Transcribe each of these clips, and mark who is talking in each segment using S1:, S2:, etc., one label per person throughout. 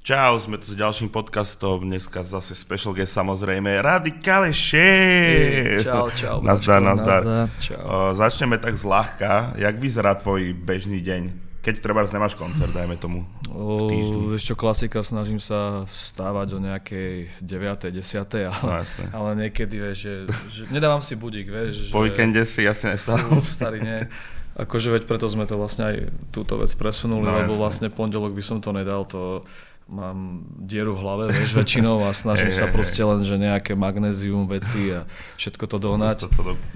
S1: Čau, sme tu s ďalším podcastom, dneska zase special guest samozrejme, Radikale Šéf.
S2: Čau.
S1: Nazdar. Začneme tak zľahka, jak vyzerá tvoj bežný deň? Keď treba nemáš koncert, dajme tomu v týždni.
S2: Vieš čo, klasika, snažím sa vstávať o nejakej 9. 10. Ale niekedy, vieš, že nedávam si budík, vieš.
S1: Po víkende si jasne nestávam.
S2: Starý, nie. Akože veď preto sme to vlastne aj túto vec presunuli, lebo vlastne pondelok by som to nedal, to mám dieru v hlave, vieš, väčšinou a snažím sa proste len, že nejaké magnézium, veci a všetko to dohnať.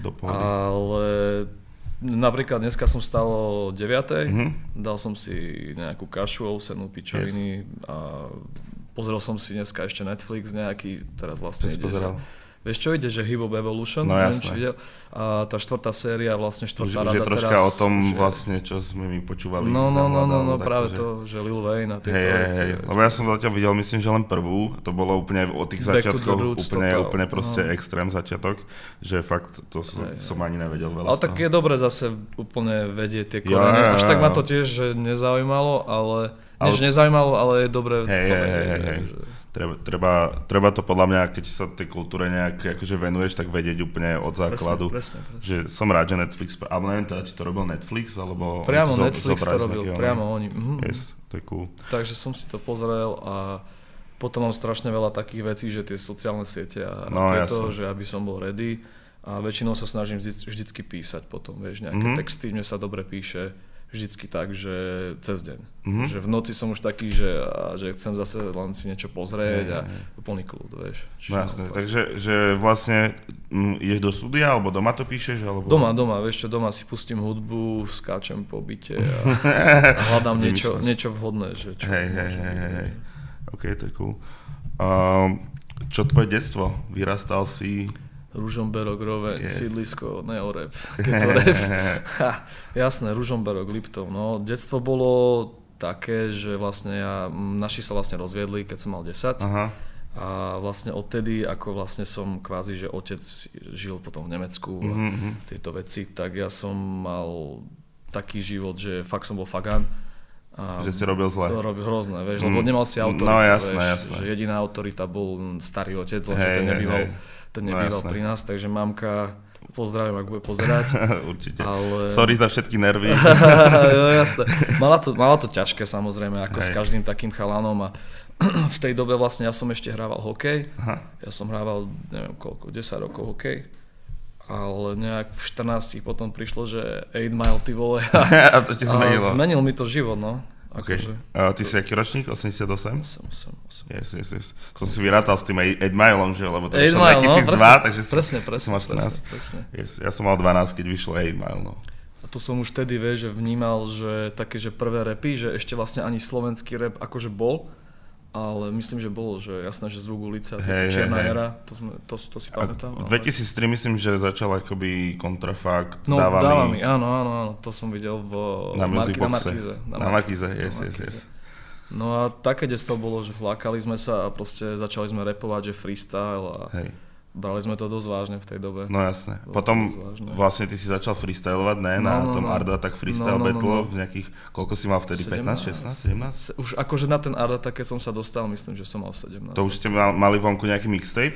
S2: Ale napríklad dneska som vstal o 9, dal som si nejakú kašu, ovsenú, pičoviny a pozrel som si dneska ešte Netflix nejaký, teraz vlastne ide, vieš čo ide, že Hip Hop Evolution,
S1: no,
S2: neviem, či videl, a tá štvrtá séria, vlastne štvrtá rada teraz.
S1: Že troška o tom vlastne, čo sme mi počúvali.
S2: No, práve to, že Lil Wayne a tieto veci.
S1: Lebo ja som zatiaľ videl, myslím, že len prvú, to bolo úplne od tých začiatkov, úplne proste extrém začiatok, že fakt to som ani nevedel veľa.
S2: Ale tak je dobre zase úplne vedieť tie korene, až tak ma to tiež že nezaujímalo, ale je dobre to vedieť.
S1: Treba to podľa mňa, keď sa tej kultúre nejak akože venuješ, tak vedieť úplne od základu.
S2: Presne.
S1: Že som rád, že Netflix, alebo neviem teda, či to robil Netflix, alebo...
S2: Priamo Netflix to robil, priamo oni.
S1: Yes, to je cool.
S2: Takže som si to pozrel a potom mám strašne veľa takých vecí, že tie sociálne siete a tieto, že aby som bol ready a väčšinou sa snažím vždycky písať potom, vieš, nejaké texty, mne sa dobre píše. Vždycky tak, že cez deň. Že v noci som už taký, že chcem zase len si niečo pozrieť a úplný kľud, vieš.
S1: Jasné, takže že vlastne ideš do štúdia, alebo doma to píšeš? Alebo...
S2: Doma, vieš čo, doma si pustím hudbu, skáčem po byte a hľadám niečo vhodné. Že čo
S1: hej. OK, to je cool. Čo tvoje detstvo? Vyrastal si...
S2: Ružomberok, Roveň, sídlisko, neorep, ketorep. Jasné, Ružomberok, Liptov. No, detstvo bolo také, že vlastne naši sa vlastne rozviedli, keď som mal 10. Aha. A vlastne odtedy, ako vlastne som kvázi, že otec žil potom v Nemecku a tieto veci, tak ja som mal taký život, že fakt som bol fagán.
S1: Že si robil zle.
S2: Robil hrozné, vieš, lebo nemal si autoritu,
S1: no, jasné.
S2: Že jediná autorita bol starý otec, lebo ten nebýval pri nás, takže mamka, pozdravím, ak bude pozerať.
S1: Určite. Ale... Sorry za všetky nervy.
S2: Jo, jasné. Mala to ťažké samozrejme, ako s každým takým chalanom a v tej dobe vlastne ja som ešte hrával hokej. Aha. Ja som hrával, neviem koľko, 10 rokov hokej. Ale nejak v 14 potom prišlo, že 8 Mile, ty vole.
S1: A to ti zmenilo.
S2: Zmenil mi to život, no.
S1: Okay. Ty si aký ročník? 88?
S2: 8.
S1: Yes. Som si vyrátal s tým 8 Mileom, že? Lebo to vyšlo 2002, takže som mal 14. Yes, ja som mal 12, keď vyšlo 8 Mile, no.
S2: A tu som už vtedy, vieš, že vnímal, že také, že prvé rapy, že ešte vlastne ani slovenský rap akože bol, ale myslím, že bolo, že jasné, že Zvuk ulice a Čierna era, to si pamätám.
S1: V 2003 myslím, že začal akoby Kontrafakt,
S2: Dávami, áno, to som videl na Markíze.
S1: Na Markíze, yes.
S2: No a také detstvo bolo, že flákali sme sa a proste začali sme rapovať, že freestyle a brali sme to dosť vážne v tej dobe.
S1: No jasné. Potom vlastne ty si začal freestylovať, ne? Na tom Art Attack freestyle battle v nejakých, koľko si mal vtedy? 15, 16, 17?
S2: Už akože na ten Art Attack, keď som sa dostal, myslím, že som mal 17.
S1: To už ste mali vonku nejaký mixtape?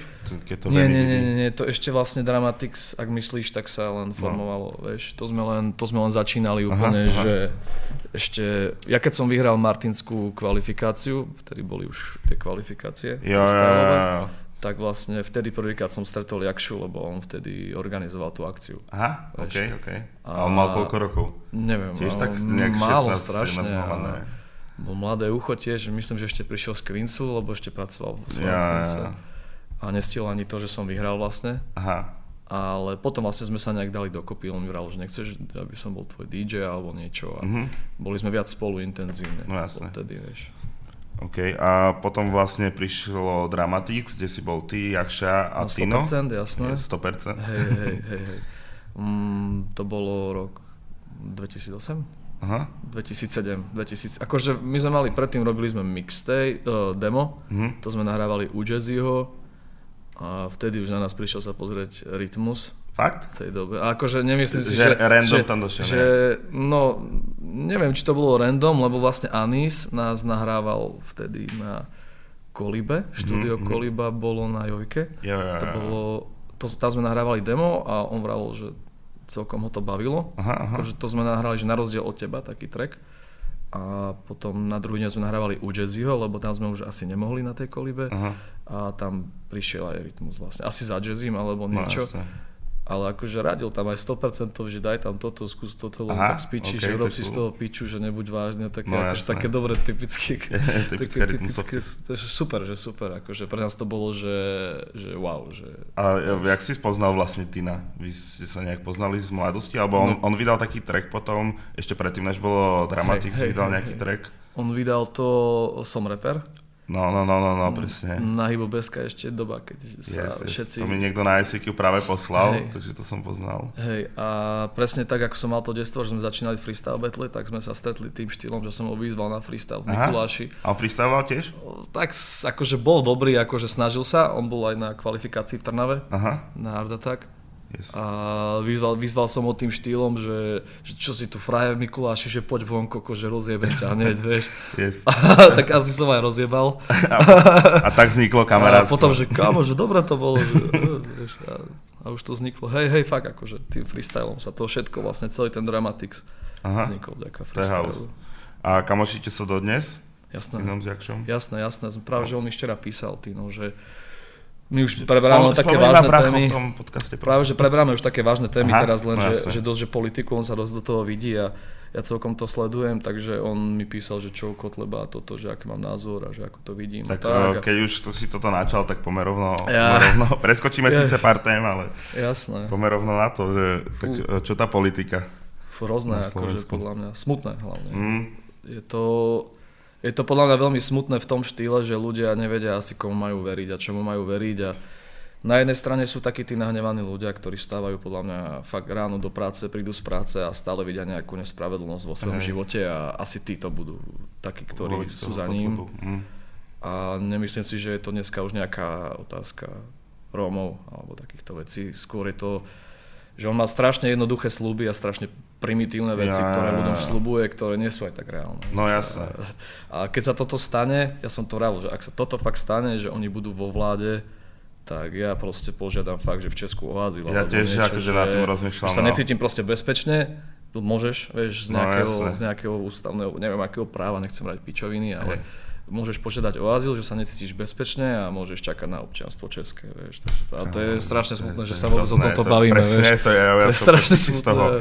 S2: Nie, to ešte vlastne Dramatics, ak myslíš, tak sa len formovalo, vieš. To sme len začínali úplne, že ešte, ja keď som vyhral martinskú kvalifikáciu, vtedy boli už tie kvalifikácie freestyleové, tak vlastne vtedy prvýkrát som stretol Jakšu, lebo on vtedy organizoval tú akciu.
S1: Aha, OK. A on mal koľko rokov?
S2: Neviem,
S1: tiež tak nejak
S2: málo strašne. Bol mladé ucho tiež, myslím, že ešte prišiel z Queensu, lebo ešte pracoval vo svojom Queense. A nestihol ani to, že som vyhral vlastne. Aha. Ale potom vlastne sme sa nejak dali dokopy, on mi vral, že nechceš, aby som bol tvoj DJ alebo niečo. A boli sme viac spolu intenzívne.
S1: No jasne.
S2: Vtedy, vieš.
S1: OK, a potom vlastne prišlo Dramatics, kde si bol ty, Jakša a Tino.
S2: 100%, jasné.
S1: 100%.
S2: Hej. To bolo rok 2008? Aha. 2007. Akože my sme mali, predtým robili sme mixtape, demo, to sme nahrávali u Jazzyho a vtedy už na nás prišiel sa pozrieť Rytmus.
S1: Fakt?
S2: V tej dobe. A akože nemyslím si,
S1: že random tam došiel,
S2: no, neviem, či to bolo random, lebo vlastne Anis nás nahrával vtedy na Kolibe. Štúdio Koliba bolo na Jojke. Tam sme nahrávali demo a on vravel, že celkom ho to bavilo. Akože to sme nahrali, že na rozdiel od teba, taký track. A potom na druhý deň sme nahrávali u Jazzyho, lebo tam sme už asi nemohli na tej Kolibe. A tam prišiel aj rytmus vlastne. Asi za Jazzym alebo niečo. No, ale akože radil tam aj 100%, že daj tam toto, skús toto, lebo tak spíči, že rob si z toho piču, že nebuď vážne, také, akože také dobré, typické super, že super, akože pre nás to bolo, že wow. Že,
S1: a jak si spoznal vlastne Tina? Vy ste sa nejak poznali z mladosti, alebo on vydal taký track potom, ešte predtým, než bolo Dramatix, vydal nejaký track?
S2: On vydal to Som rapper.
S1: No, presne.
S2: Na Hybo.sk ešte doba, keď sa všetci...
S1: To mi niekto na ICQ práve poslal, takže to som poznal.
S2: Hej, a presne tak, ako som mal to detstvo, že sme začínali freestyle battle, tak sme sa stretli tým štýlom, že som ho vyzval na freestyle v Mikuláši.
S1: A on freestyloval tiež?
S2: Tak akože bol dobrý, akože snažil sa, on bol aj na kvalifikácii v Trnave, na Hard Attack. Yes. A vyzval som ho tým štýlom, že čo si tu frajer Mikuláši, že poď vonko, že rozjebem ťa hneď, vieš.
S1: Yes.
S2: Tak asi som aj rozjebal.
S1: A tak vzniklo kamarátstvo.
S2: A potom, že kámo, že dobre to bolo. Vieš, a už to vzniklo. Hej, fakt akože tým freestylom sa to všetko vlastne, celý ten Dramatix vznikol vďaka freestylu.
S1: A kamošíte sa dodnes?
S2: Jasné.
S1: Jasné.
S2: Práve, že on mi včera písal, Tino, že my už preberáme také vážne témy. Práve, že preberáme už také vážne témy teraz, len že dosť, že politiku, on sa dosť do toho vidí a ja celkom to sledujem, takže on mi písal, že čo Kotleba a toto, že aký mám názor a že ako to vidím.
S1: Tak keď už si toto načal, tak pomer rovno. Preskočíme síce pár tém, ale pomer rovno na to, že tak, čo tá politika?
S2: Hrozné, akože podľa mňa, smutné hlavne. Je to podľa mňa veľmi smutné v tom štýle, že ľudia nevedia asi komu majú veriť a čomu majú veriť a na jednej strane sú takí tí nahnevaní ľudia, ktorí vstávajú podľa mňa fakt ráno do práce, prídu z práce a stále vidia nejakú nespravedlnosť vo svojom živote a asi títo budú takí, ktorí sú za ním. A nemyslím si, že je to dneska už nejaká otázka Rómov alebo takýchto vecí. Skôr je to, že on má strašne jednoduché sľuby a strašne primitívne veci, ktoré ľuďom sľubuje, ktoré nie sú aj tak reálne.
S1: No jasné.
S2: A keď sa toto stane, ja som to vravil, že ak sa toto fakt stane, že oni budú vo vláde, tak ja proste požiadam fakt, že v Česku o azyl.
S1: Ja tiež akože na tým rozmýšľam.
S2: Že sa necítim proste bezpečne, môžeš, vieš, z nejakého ústavného, neviem akého práva, nechcem brať pičoviny, ale môžeš požiadať o azyl, že sa necítiš bezpečne a môžeš čakať na občianstvo české, vieš. A to je strašne smutné, že sa vôbec o tomto bavíme,
S1: presne,
S2: vieš.
S1: To je strašne smutné.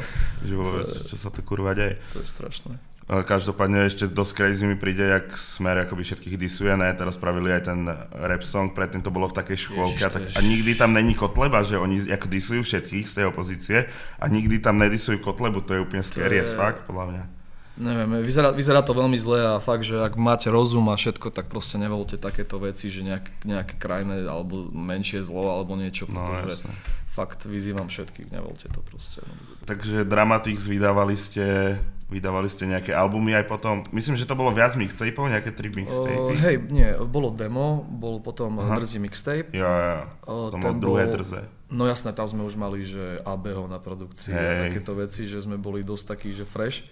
S1: Čo sa tu kurva deje.
S2: To je strašné.
S1: Každopádne ešte dosť crazy mi príde, jak Smer akoby všetkých disuje, ne? Teraz spravili aj ten rap song, predtým to bolo v takej škôlke a nikdy tam není Kotleba, že oni ako disujú všetkých z tej opozície a nikdy tam nedisujú Kotlebu, to je úplne scary as fuck, podľa mňa.
S2: Neviem, vyzerá to veľmi zle a fakt, že ak máte rozum a všetko, tak proste nevolte takéto veci, že nejaké krajné alebo menšie zlo alebo niečo, pretože fakt vyzývam všetkých, nevolte to proste.
S1: Takže Dramatix vydávali ste nejaké albumy aj potom, myslím, že to bolo viac mixtapeov, nejaké 3 mixtapey?
S2: Hej, nie, bolo demo, bol potom Drzý mixtape.
S1: To bol druhé drze.
S2: No jasné, tam sme už mali, že ABho na produkcii a takéto veci, že sme boli dosť takí, že fresh.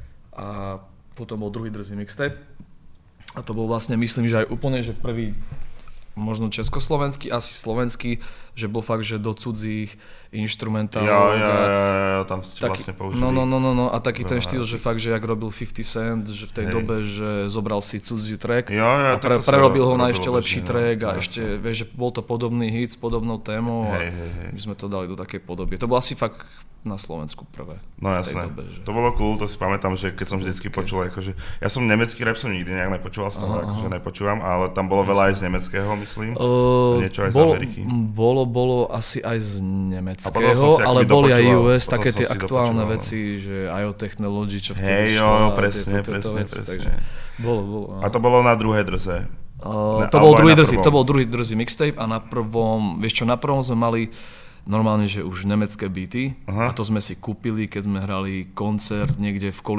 S2: A potom bol druhý Drzý mixtape. A to bol vlastne, myslím, že aj úplne, že prvý možno československý, asi slovenský, že bol fakt, že do cudzích inštrumentálov.
S1: Tam ste vlastne použili.
S2: No, a taký ten štýl, že fakt, že jak robil 50 Cent, že v tej dobe, že zobral si cudzí track a prerobil ho na ešte lepší track a ešte, vieš, že bol to podobný hit s podobnou témou a my sme to dali do takej podoby. To bolo asi fakt na Slovensku prvé.
S1: No jasné, to bolo cool, to si pamätám, že keď som vždycky počul, akože, ja som nemecký rap som nikdy nejak nepočúval z toho, akože nepočúvam, ale tam bolo veľa aj z nemeckého, myslím, niečo aj z Ameriky.
S2: Bolo asi aj z nemeckého, ale boli aj US, také tie aktuálne veci, že IO Technology, čo vtedy šlo.
S1: Presne.
S2: Takže bolo.
S1: A to bolo na druhé drze?
S2: To bol druhý Drzý mixtape a na prvom sme mali normálne, že už nemecké beaty a to sme si kúpili, keď sme hrali koncert niekde v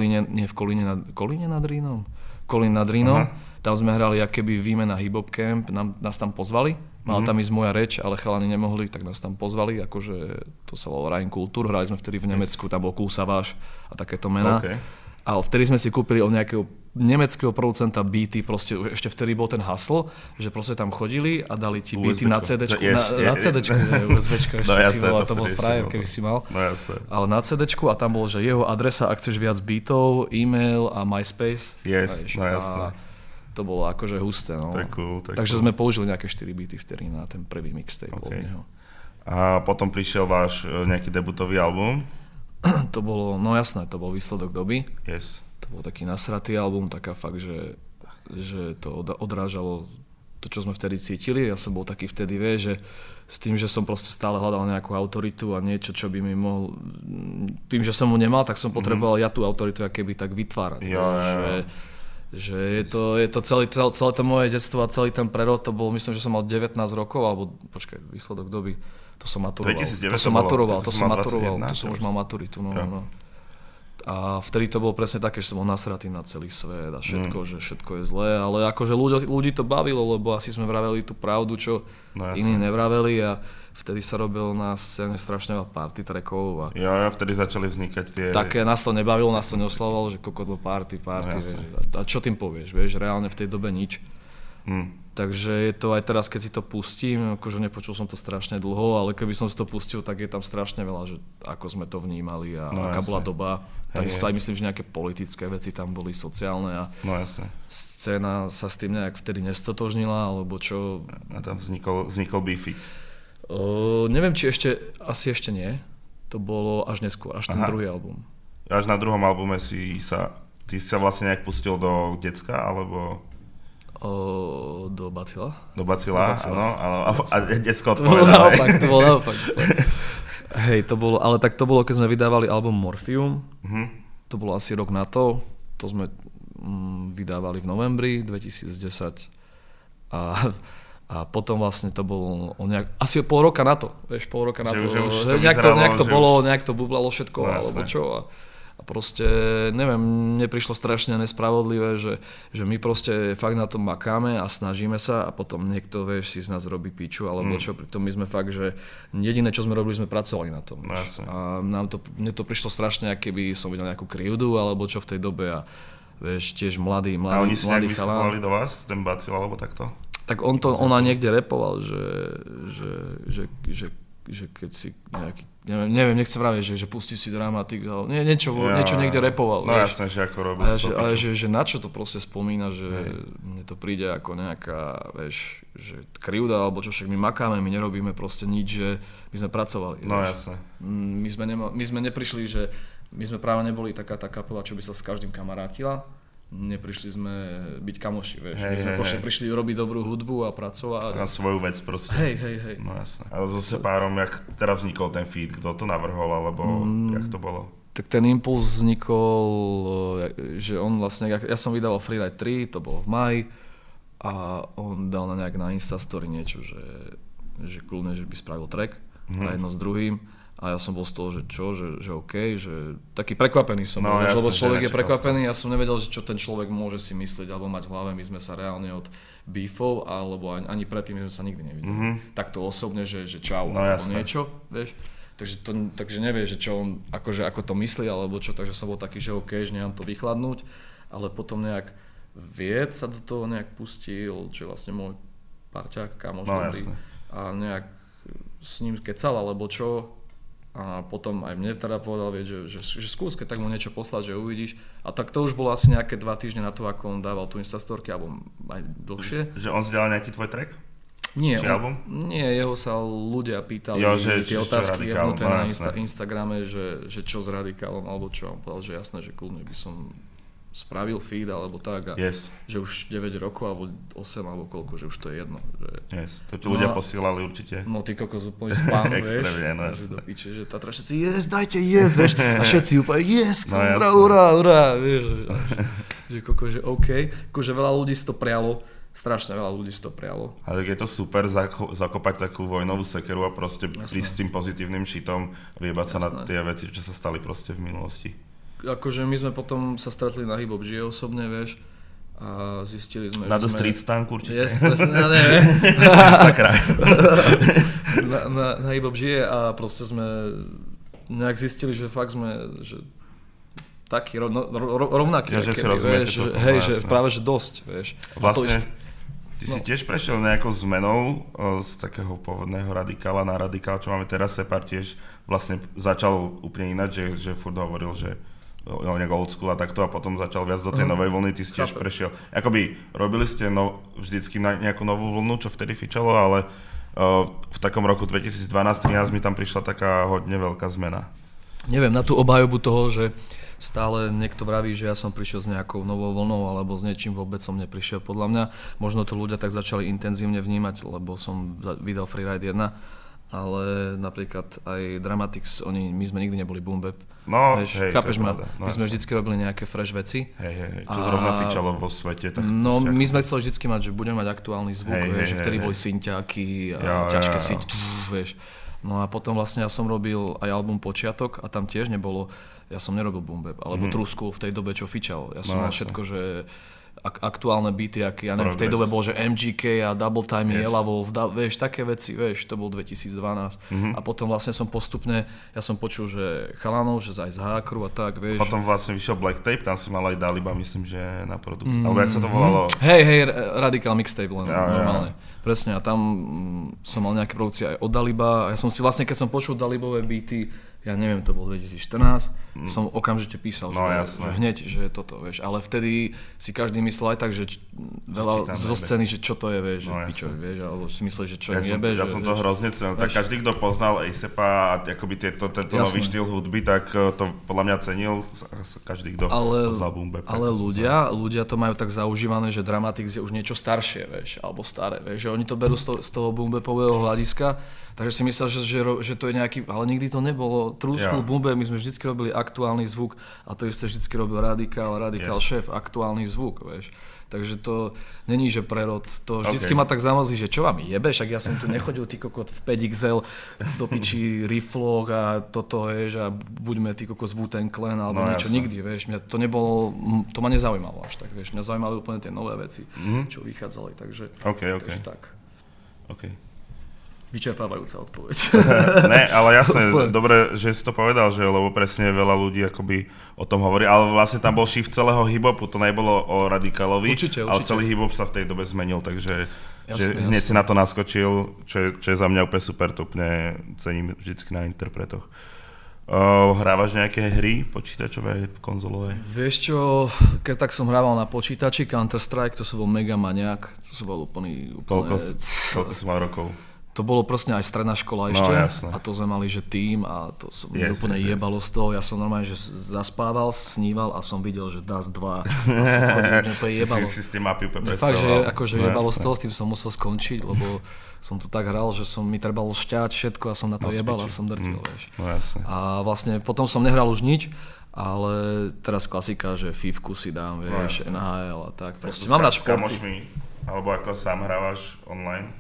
S2: Kolíne nad Rínom. Tam sme hrali akéby výmena hip-hop camp, nás tam pozvali Mala tam ísť moja reč, ale chalani nemohli, tak nás tam pozvali, akože to sa volalo Rhein Kultur, hrali sme vtedy v Nemecku, tam bol Kusaváš a takéto mená. Okay. A vtedy sme si kúpili od nejakého nemeckého producenta beaty, proste ešte vtedy bol ten hasl, že proste tam chodili a dali ti beaty na CDčku, na CDčku, USBčko ešte, to bol frajer, keby si mal.
S1: No jasne.
S2: Ale na CDčku a tam bol, že jeho adresa, ak chceš viac beatov, e-mail a MySpace.
S1: Yes, no jasne.
S2: To bolo akože husté, no. Takže sme použili nejaké 4 beaty vtedy na ten prvý mixtape od neho.
S1: A potom prišiel váš nejaký debutový album?
S2: To bolo, no jasné, to bol Výsledok doby.
S1: Yes.
S2: To bol taký nasratý album, taká fakt, že to odrážalo to, čo sme vtedy cítili. Ja som bol taký vtedy, že s tým, že som proste stále hľadal nejakú autoritu a niečo, čo by mi mohol... Tým, že som mu nemal, tak som potreboval ja tú autoritu keby tak vytvárať. Že je to celé to moje detstvo a celý ten prerod, to bol, myslím, že som mal 19 rokov, alebo počkaj, Výsledok doby. To som maturoval. To som už mal maturitu. No. A vtedy to bolo presne také, že som bol nasratý na celý svet a všetko, že všetko je zlé, ale akože ľudí to bavilo, lebo asi sme vraveli tú pravdu, čo iní nevraveli a vtedy sa robil na scéne strašne veľa party trackov.
S1: Ja, vtedy začali vznikať tie...
S2: Také nás to nebavilo, nás to neoslavovalo, že kokotlo party, vieš. A čo tým povieš, vieš, reálne v tej dobe nič. Takže je to aj teraz, keď si to pustím, akože nepočul som to strašne dlho, ale keby som si to pustil, tak je tam strašne veľa, že ako sme to vnímali a aká bola doba. Takisto aj myslím, že nejaké politické veci tam boli, sociálne a scéna sa s tým nejak vtedy nestotožnila, alebo čo.
S1: A tam vznikol beefik.
S2: Neviem, či asi ešte nie. To bolo až neskôr, až ten druhý album.
S1: Až na druhom albume ty sa vlastne nejak pustil do decka, alebo...
S2: Do Bacila.
S1: Do Bacila, áno. A decko odpovedal.
S2: To bolo naopak. Hej, to bolo, keď sme vydávali album Morphium. To bolo asi rok na to. To sme vydávali v novembri 2010. A potom vlastne to bolo asi pol roka na to. Vieš, pol roka na to. Nejak to bublalo všetko, alebo čo. A proste, neviem, mne prišlo strašne nespravodlivé, že my proste fakt na tom makáme a snažíme sa a potom niekto, vieš, si z nás robí piču, alebo čo, pritom my sme fakt, že jediné, čo sme robili, sme pracovali na tom. A mne to prišlo strašne, keby som videl nejakú krivdu, alebo čo v tej dobe a vieš, tiež mladý chalán. A
S1: oni si nejak vyskakovali do vás, ten Bacil, alebo takto?
S2: Tak on niekde repoval, že keď si nejaký, neviem, nechcem vraviť, že pustí si Dramatik, ale niečo niekde repoval.
S1: No jasné, že ako robil.
S2: Ale že na čo to proste spomína, že mne to príde ako nejaká, vieš, že krivda, alebo čo, však my makáme, my nerobíme proste nič, že my sme pracovali.
S1: No jasné.
S2: My sme neprišli, že my sme práve neboli taká tá kapela, čo by sa s každým kamarátila. Neprišli sme byť kamoši, vieš. My sme prišli robiť dobrú hudbu a pracovať.
S1: Na svoju vec proste.
S2: Hej.
S1: No jasné. Ale so Sepárom, jak teraz vznikol ten feed, kto to navrhol, alebo jak to bolo?
S2: Tak ten impuls vznikol, že on vlastne, ja som vydával Freeride 3, to bolo v máji, a on dal na Instastory niečo, že kľudne, že by spravil track a jedno s druhým. A ja som bol z toho, že čo, že OK, že taký prekvapený som bol, lebo človek je prekvapený, ja som nevedel, že čo ten človek môže si myslieť alebo mať v hlave, my sme sa reálne od beefov, alebo ani predtým sme sa nikdy nevideli. Takto osobne, že čau, alebo niečo, vieš. Takže nevieš, že čo on, akože ako to myslí, alebo čo, takže som bol taký, že OK, že nemám to vychladnúť, ale potom nejak Vied sa do toho nejak pustil, čo je vlastne môj parťák, kamoš dobrý, a nejak s ním kecal, alebo čo. A potom aj mne teda povedal, že skús, keď tak mu niečo poslať, že uvidíš. A tak to už bolo asi nejaké 2 týždne na to, ako on dával tú Instastorky, alebo aj dlhšie.
S1: Že on zdieľal nejaký tvoj track?
S2: Nie, jeho sa ľudia pýtali tie otázky jebnuté na Instagrame, že čo s Radikálom, alebo čo. On povedal, že jasné, že kľudne by som spravil feed, alebo tak, a že už 9 rokov, alebo 8, alebo koľko, že už to je jedno. Že...
S1: To ti ľudia posielali určite.
S2: No ty kokos úplne spám, vieš.
S1: Extrémne, no
S2: jasné. Do piče, že Tatra všetci, dajte vieš. A všetci úplne, urá, vieš. Že kokos, že OK. Akože veľa ľudí si to prialo, strašne veľa ľudí si to prialo.
S1: Ale tak je to super zakopať takú vojnovú sekeru a proste prísť s tým pozitívnym šitom a vyjebať sa na tie veci, čo sa stali proste v minulosti.
S2: Akože my sme potom sa stretli na Hip Hop Žije osobne, vieš, a zistili sme,
S1: na The Street Stank určite.
S2: Yes, neviem. na hip-hop žije a proste sme nejak zistili, že fakt sme, že taký rovnaký,
S1: ja,
S2: že práve že dosť, vieš.
S1: Vlastne, ty si tiež prešiel nejakou zmenou z takého pôvodného radikála na radikál, čo máme teraz, Separ tiež vlastne začal úplne ináč, že furt hovoril, že nejak old school a takto a potom začal viac do tej novej vlny, ty si tiež prešiel. Akoby robili ste vždycky nejakú novú vlnu, čo vtedy fičalo, ale v takom roku 2012-2013 mi tam prišla taká hodne veľká zmena.
S2: Neviem, na tú obhajobu toho, že stále niekto vraví, že ja som prišiel s nejakou novou vlnou alebo s niečím, vôbec som neprišiel. Podľa mňa možno to ľudia tak začali intenzívne vnímať, lebo som vydal Freeride 1, ale napríklad aj Dramatics, my sme nikdy neboli boom bap.
S1: No,
S2: chápeš ma? My sme vždycky robili nejaké fresh veci.
S1: Čo zrovna fičalo vo svete. Tak
S2: no, my sme chceli vždycky mať, že budeme mať aktuálny zvuk, že vtedy boli synťáky a ťažké syť, vieš. No a potom vlastne ja som robil aj album Počiatok a tam tiež nebolo, ja som nerobil boom bap, alebo Trusku v tej dobe, čo fičal. Ja som mal všetko, že aktuálne beaty, ja neviem, v tej dobe bol, že MGK a Double Time, Yellow Wolf, vieš, také veci, vieš, to bol 2012. A potom vlastne som postupne, ja som počul, že chalanov, že aj z Hákru a tak, vieš.
S1: Potom vlastne vyšiel Black Tape, tam si mal aj Daliba, myslím, že na produkt, alebo jak sa to volalo?
S2: Hej, Radical Mixtape len, normálne. Presne, a tam som mal nejaké produkcie aj od Daliba, a ja som si vlastne, keď som počul Dalibové beaty, ja neviem, to bol 2014, som okamžite písal, že hneď, že toto, vieš, ale vtedy si každý myslel aj tak, že veľa zo scény, že čo to je, vieš, že pičovi, vieš, alebo si myslel, že čo im jebe,
S1: ja som to hrozne cenil, tak každý, kto poznal A$APa a akoby tento nový štýl hudby, tak to podľa mňa cenil každý, kto poznal boom bap.
S2: Ale ľudia to majú tak zaužívané, že Dramatics je už niečo staršie, vieš, alebo staré, vieš, že oni to berú z toho boom bapového hľadiska. Takže si myslel, že to je nejaký, ale nikdy to nebolo. Trúskul, boom bap, my sme vždycky robili aktuálny zvuk a to isté vždycky robil Radikál šéf, aktuálny zvuk, vieš. Takže to není, že prerod, to vždycky ma tak zamazí, že čo vám jebe, však ja som tu nechodil ty kokot v 5XL do piči rifloch a toto, vieš, a buďme ty kokot z Wu-Tang Clan alebo niečo, nikdy, vieš, mňa to nebolo, to ma nezaujímalo až tak, vieš, mňa zaujímali úplne tie nové veci, čo vychádzali, takže tak. Vyčerpávajúca odpoveď.
S1: Ne, ale jasné, dobre, že si to povedal, že lebo presne veľa ľudí akoby o tom hovorí, ale vlastne tam bol shift celého hip-hopu, to nebolo o Radikálovi, určite. Ale celý hip-hop sa v tej dobe zmenil, takže hneď si na to naskočil, čo je za mňa úplne super, to úplne cením vždycky na interpretoch. Hrávaš nejaké hry počítačové, konzolové?
S2: Vieš čo, keď tak som hrával na počítači, Counter-Strike, to som bol mega maniak, to som bol úplne...
S1: Koľko si mal rokov?
S2: To bolo proste aj stredná škola ešte a to sme mali, že tým a to som úplne jebalo z toho. Ja som normálne, že zaspával, sníval a som videl, že DAS 2 a som chodil úplne jebalo.
S1: Si s tým mapy úplne predstavoval.
S2: Fakt, že akože jebalo z toho, s tým som musel skončiť, lebo som to tak hral, že mi trebalo šťať všetko a som na to jebal a som drtil, vieš. A vlastne potom som nehral už nič, ale teraz klasika, že Fivku si dám, vieš, NHL a tak. Proste mám rád športy.
S1: Alebo ako sám hrávaš online?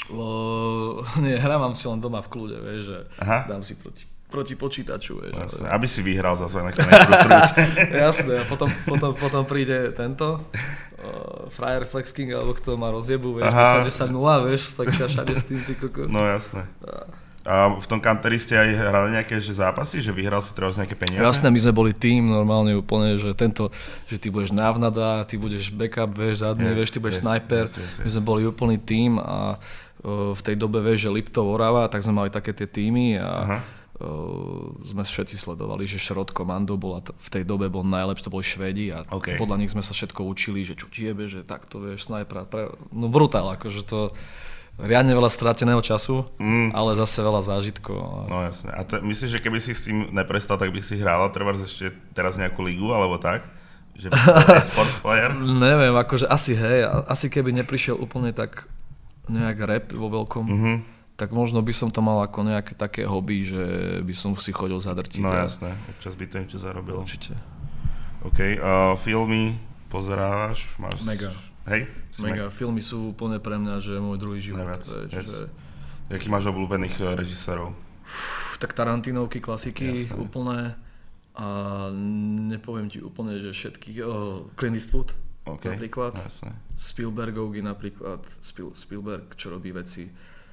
S2: Nie, hrávam si len doma v kľude, vieš, že dám si proti počítaču, vieš.
S1: Jasne, aby si vyhral zase, nech to nefrustrujúce.
S2: Jasné, a potom príde tento Frajer Flex King, alebo kto má rozjebu, vieš, 10-0, vieš, flexia všade s tým, ty kokos.
S1: No jasné. A v tom Counteri ste aj hrali nejaké zápasy, že vyhral si teraz nejaké peniaze?
S2: Jasné, my sme boli tým normálne úplne, že že ty budeš návnada, ty budeš backup, vieš, zadný, vieš, ty budeš sniper. My sme boli úplný tým a v tej dobe, vieš, že Liptov, Orava, tak sme mali také tie týmy a sme všetci sledovali, že Šrot Komando bola v tej dobe bol najlepší, to boli Švédi a podľa nich sme sa všetko učili, že čo ti jebe, že takto, vieš, sniper, no brutál, akože to riadne veľa strateného času, ale zase veľa zážitkov.
S1: No jasne. A myslíš, že keby si s tým neprestal, tak by si hral treba ešte teraz nejakú ligu, alebo tak? Že by sport player?
S2: Neviem, akože asi keby neprišiel úplne tak nejak rap vo veľkom, tak možno by som to mal ako nejaké také hobby, že by som si chodil zadrtiť.
S1: No jasné, občas by to niečo zarobilo.
S2: Určite.
S1: OK, filmy pozerávaš?
S2: Mega.
S1: Hej?
S2: Mega, filmy sú úplne pre mňa, že môj druhý život.
S1: Jaký máš obľúbených režisérov?
S2: Tak Tarantinovky, klasiky, úplné. A nepoviem ti úplne, že všetkých. Clint Eastwood. napríklad. Jasne. Spielbergovky napríklad, Spielberg, čo robí veci.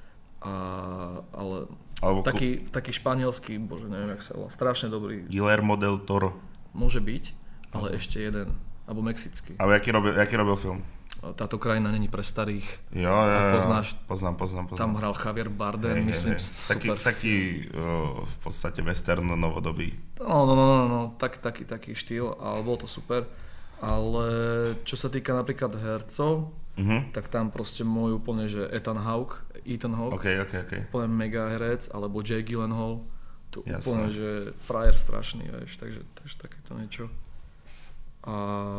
S2: Ale taký španielský, bože, neviem, jak sa volá, strašne dobrý.
S1: Guillermo del Toro.
S2: Môže byť, ale ešte jeden, alebo mexický.
S1: Ale aký robil film?
S2: Táto krajina není pre starých.
S1: Jo,
S2: poznáš?
S1: Poznám.
S2: Tam hral Javier Bardem, myslím, super.
S1: Taký v podstate western novodobý.
S2: No, taký štýl, ale bol to super. Ale čo sa týka napríklad hercov, tak tam proste môj úplne, že Ethan Hawke.
S1: Okay.
S2: Úplne mega herec, alebo Jake Gyllenhaal. To úplne, že frajer strašný, vieš, takže takéto niečo. A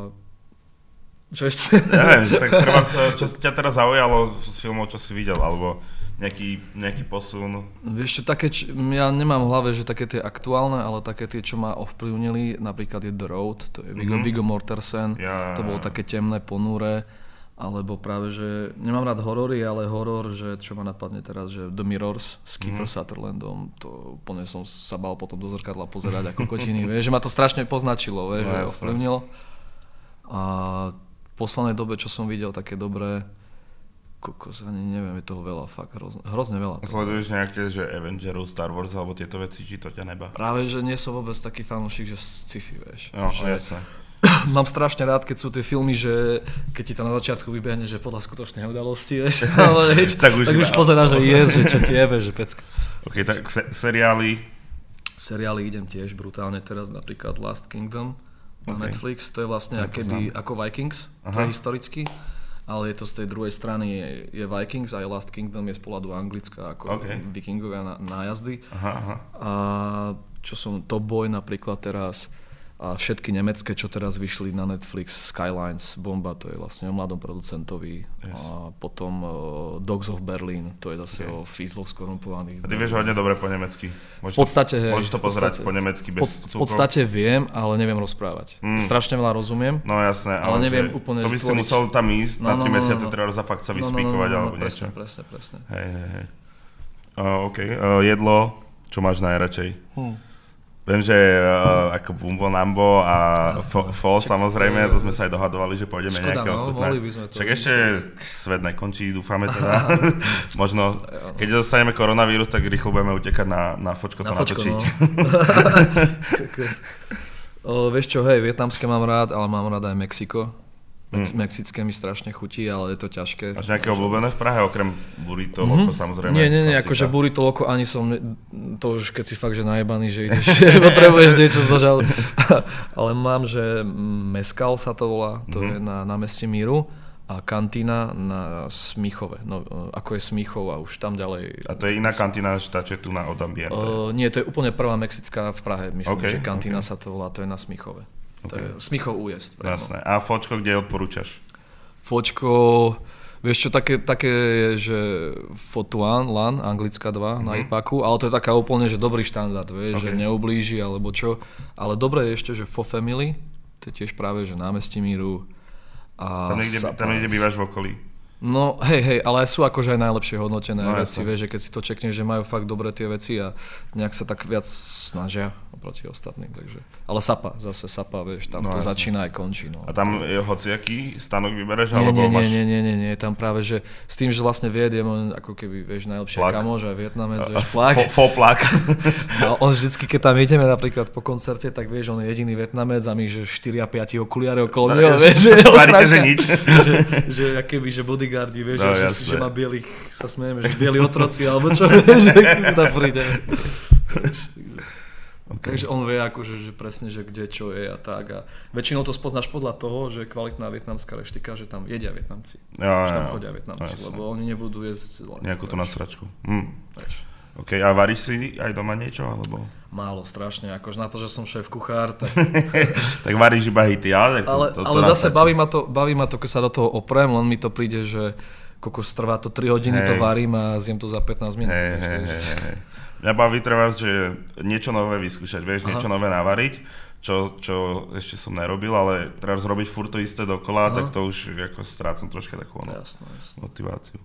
S2: čo ešte?
S1: Neviem, tak treba sa, čo ťa teraz zaujalo z filmov, čo si videl, alebo nejaký posun?
S2: Vieš čo, ja nemám v hlave, že také tie aktuálne, ale také tie, čo ma ovplyvnili, napríklad je The Road, to je Viggo Mortensen, to bolo také temné, ponúre, alebo práve, že nemám rád horory, ale horor, že čo ma napadne teraz, že The Mirrors s Kiefer Sutherlandom, to úplne som sa bál potom do zrkadla pozerať ako kokotiny, vieš, že ma to strašne poznačilo, vieš, že ovplyvnilo. A v poslednej dobe, čo som videl také dobré, ani neviem, je toho veľa, fakt hrozne veľa.
S1: Sleduješ nejaké, že Avengerov, Star Wars alebo tieto veci, či to ťa nebá?
S2: Práve, že nie som vôbec taký fanúšik, že sci-fi, vieš.
S1: No, jasne.
S2: Mám strašne rád, keď sú tie filmy, že keď ti to na začiatku vybehne, že podľa skutočnej udalosti, vieš, ale tak už pozeráš, že že čo ti jebe, že pecka.
S1: Ok, tak seriály?
S2: Seriály idem tiež brutálne teraz, napríklad Last Kingdom na Netflix, to je vlastne ako Vikings, to je historicky, ale je to z tej druhej strany, je Vikings a Last Kingdom je z pohľadu Anglicka, ako vikingovia nájazdy. A čo som Top Boy napríklad teraz, a všetky nemecké, čo teraz vyšli na Netflix, Skylines, bomba, to je vlastne o mladom producentovi. Yes. A potom Dogs of Berlin, to je zase o fízloch skorumpovaných.
S1: A ty vieš hodne dobre po nemecky. Môžeš to pozerať po nemecky bez
S2: V podstate viem, ale neviem rozprávať. Strašne veľa rozumiem.
S1: No jasné,
S2: ale neviem úplne
S1: to by si musel tam ísť na 3 mesiace, treba za fakt sa vyspíkovať alebo niečo.
S2: Presne.
S1: Hej. Jedlo, čo máš najradšej? Viem, že ako Bumbo Nambo a Fo samozrejme, to sme sa aj dohadovali, že pôjdeme nejaké ochutnať. Však ešte svet nekončí, dúfame teda. Možno, keď dostaneme koronavírus, tak rýchlo budeme utekať na Fočko to natočiť.
S2: Vieš čo, hej, vietnamské mám rád, ale mám rád aj Mexiko. Mexické mi strašne chutí, ale je to ťažké.
S1: Máš nejaké obľúbené v Prahe, okrem burrito, loko samozrejme?
S2: Nie, akože burrito, loko ani som, to už keď si fakt, že najebaný, že ideš, potrebuješ niečo zožal. Ale mám, že Mezcal sa to volá, to je na námestí Míru a kantína na Smíchove, no ako je Smíchov a už tam ďalej.
S1: A to je iná kantína, tá, čo je tu na Od Ambiente?
S2: Nie, to je úplne prvá mexická v Prahe, myslím, že kantína sa to volá, to je na Smíchove. To je Smíchov újezd.
S1: Jasné. A Fočko, kde odporúčaš?
S2: Fočko, vieš čo, také je, že Fotuan, LAN, anglická 2 na IPAKu, ale to je taká úplne, že dobrý štandard, vieš, že neublíži alebo čo. Ale dobré je ešte, že Fo Family, to je tiež práve, že námestí Míru. A
S1: tam niekde bývaš v okolí?
S2: No hej, ale sú akože aj najlepšie hodnotené veci, vieš, že keď si to čekneš, že majú fakt dobré tie veci a nejak sa tak viac snažia oproti ostatným, takže. Ale Sapa, vieš, tam to začína aj končí. No.
S1: A tam je hociaký stanok vybereš, alebo máš...
S2: Nie, tam práve, že s tým, že vlastne viediem, on ako keby, vieš, najlepšia kamoš aj Vietnamec, vieš, Plak.
S1: Plak.
S2: A on vždycky, keď tam ideme napríklad po koncerte, tak vieš, on je jediný Vietnamec a my, že 4 a 5 okuliare okolo neho, vieš,
S1: že nič.
S2: Že akéby, že bodyguardi, vieš, že má bielých, sa smejeme, že bieli otroci, alebo čo, vieš, že tam príde. Takže on vie akože, že presne, že kde čo je a tak. A väčšinou to spoznáš podľa toho, že kvalitná vietnamská reštika, že tam jedia Vietnamci. Že tam chodia Vietnamci, lebo oni nebudú jesť...
S1: Nejakú tú nasračku. OK, a varíš si aj doma niečo, alebo...
S2: Málo, strašne, akože na to, že som šéf kuchár, tak...
S1: Tak varíš iba hity, ale...
S2: Ale zase baví ma to, keď sa do toho oprem, len mi to príde, že kokos trvá to 3 hodiny, to varím a zjem to za 15 minút.
S1: Mňa baví treba, že niečo nové vyskúšať, vieš, niečo nové navariť, čo ešte som nerobil, ale treba zrobiť furt to isté dokola, tak to už ako strácam troška takú motiváciu.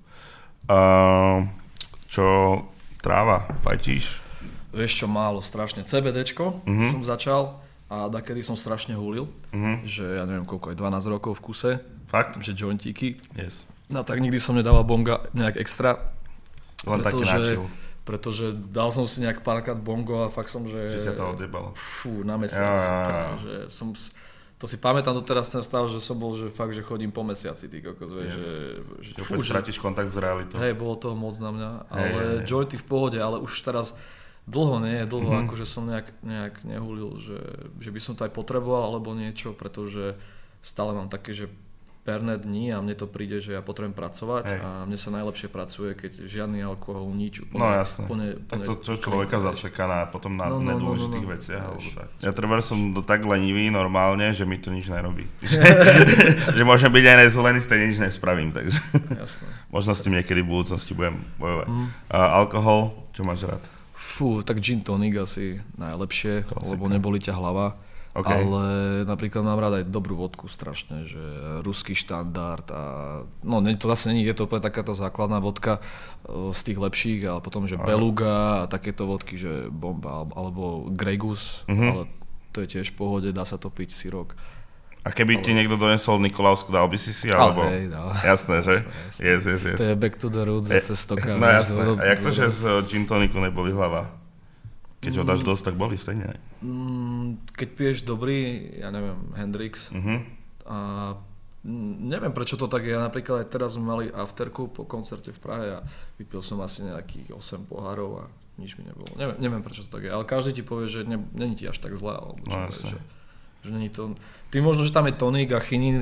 S1: Čo tráva, fajčíš?
S2: Vieš čo, málo, strašne. CBDčko som začal, A dakedy som strašne hulil, že ja neviem koľko, aj 12 rokov v kuse.
S1: Fakt?
S2: Že jointíky.
S1: Yes.
S2: No tak nikdy som nedával bonga nejak extra.
S1: Len taký načil.
S2: Pretože dal som si nejak párkrát bongo a fakt som, že...
S1: Že ťa to odjebalo.
S2: Fú, na mesiac. Že som, to si pamätám doteraz ten stav, že som bol, že fakt, že chodím po mesiaci, ty kokos, vieš,
S1: že stratíš kontakt s realitou.
S2: Hej, bolo toho moc na mňa, ale jointy v pohode, ale už teraz dlho, akože som nejak nehulil, že by som to aj potreboval alebo niečo, pretože stále mám také, že perné dni a mne to príde, že ja potrebujem pracovať a mne sa najlepšie pracuje, keď žiadny alkohol, nič.
S1: Úplne, no jasné, tak to človeka zaseká potom na nedôležitých veciach. Alebo tak. Ja treba som tak lenivý normálne, že mi to nič nerobí. Že môžem byť aj nezvolený, stejne nič nespravím, takže
S2: jasné.
S1: Možno s tým niekedy v budúcnosti budem bojovať. Alkohol, čo máš rád?
S2: Fú, tak gin tonic asi najlepšie, lebo neboli ťa hlava. Okay. Ale napríklad mám rád aj dobrú vodku strašne, že ruský štandard a no to zase není, je to úplne taká tá základná vodka z tých lepších, ale potom, že Beluga a takéto vodky, že bomba, alebo Grey Goose, ale to je tiež v pohode, dá sa to piť sirok.
S1: A keby ti niekto donesol Nikolausku, dal by si alebo...
S2: Ale hej, dal.
S1: Jasné, že?
S2: Jasné.
S1: Yes.
S2: To je back to the roots, zase stoka.
S1: No jasné, a jak to, že z gin tonicu neboli hlava? Keď ho dáš dosť, tak boli stejne.
S2: Keď piješ dobrý, ja neviem, Hendrix, a neviem prečo to tak je, napríklad aj teraz sme mali afterku po koncerte v Prahe a vypil som asi nejakých 8 pohárov a nič mi nebolo. Neviem prečo to tak je, ale každý ti povie, že není ti až tak zle, alebo čo je, že není to... Ty možno, že tam je tonik a chinín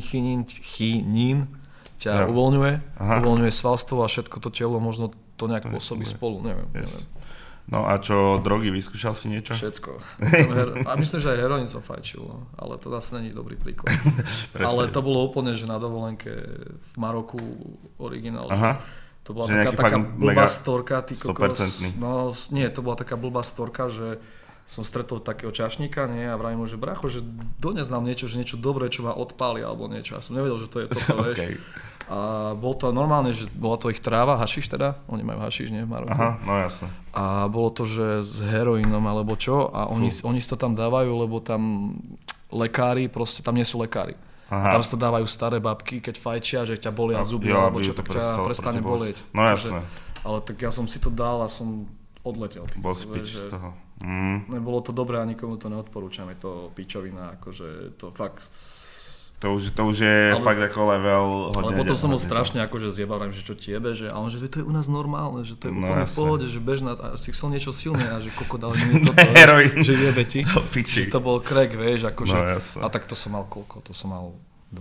S2: ťa uvoľňuje svalstvo a všetko to telo, možno to nejak pôsobí spolu, neviem.
S1: No a čo, drogy, vyskúšal si niečo?
S2: Všetko. A myslím, že aj heroín som fajčil, no. Ale to zase není dobrý príklad. Ale to bolo úplne, že na dovolenke v Maroku originál. To bola taká blbá storka, ty kokos. No nie, to bola taká blbá storka, že som stretol takého čašníka, nie, a vravím mu, že bracho, že dones nám niečo, že niečo dobré, čo ma odpáli alebo niečo. Ja som nevedel, že to je toto, vieš. A bol to normálne, že bola to ich tráva, hašiš teda, oni majú hašiš, nie, v Maroku.
S1: Aha, no jasne.
S2: A bolo to, že s heroínom alebo čo, a oni si to tam dávajú, lebo tam lekári, proste tam nie sú lekári. A tam si to dávajú staré babky, keď fajčia, že ťa bolia zuby, alebo čo, tak ťa prestane bolieť.
S1: No jasne.
S2: Ale tak ja som si to dal a som odletel.
S1: Bol si pič z toho.
S2: Nebolo to dobré a nikomu to neodporúčam, je to pičovina, akože to fakt...
S1: To už je fakt ako level hodne.
S2: Ale potom som bol strašne akože zjebal, že čo ti jebe, že, ale že to je u nás normálne, že to je úplne v pohode, že bežná, a si chcel niečo silné a že koko dali mi toto, že jebe ti, že to bol crack, vieš, akože, a tak to som mal koľko, to som mal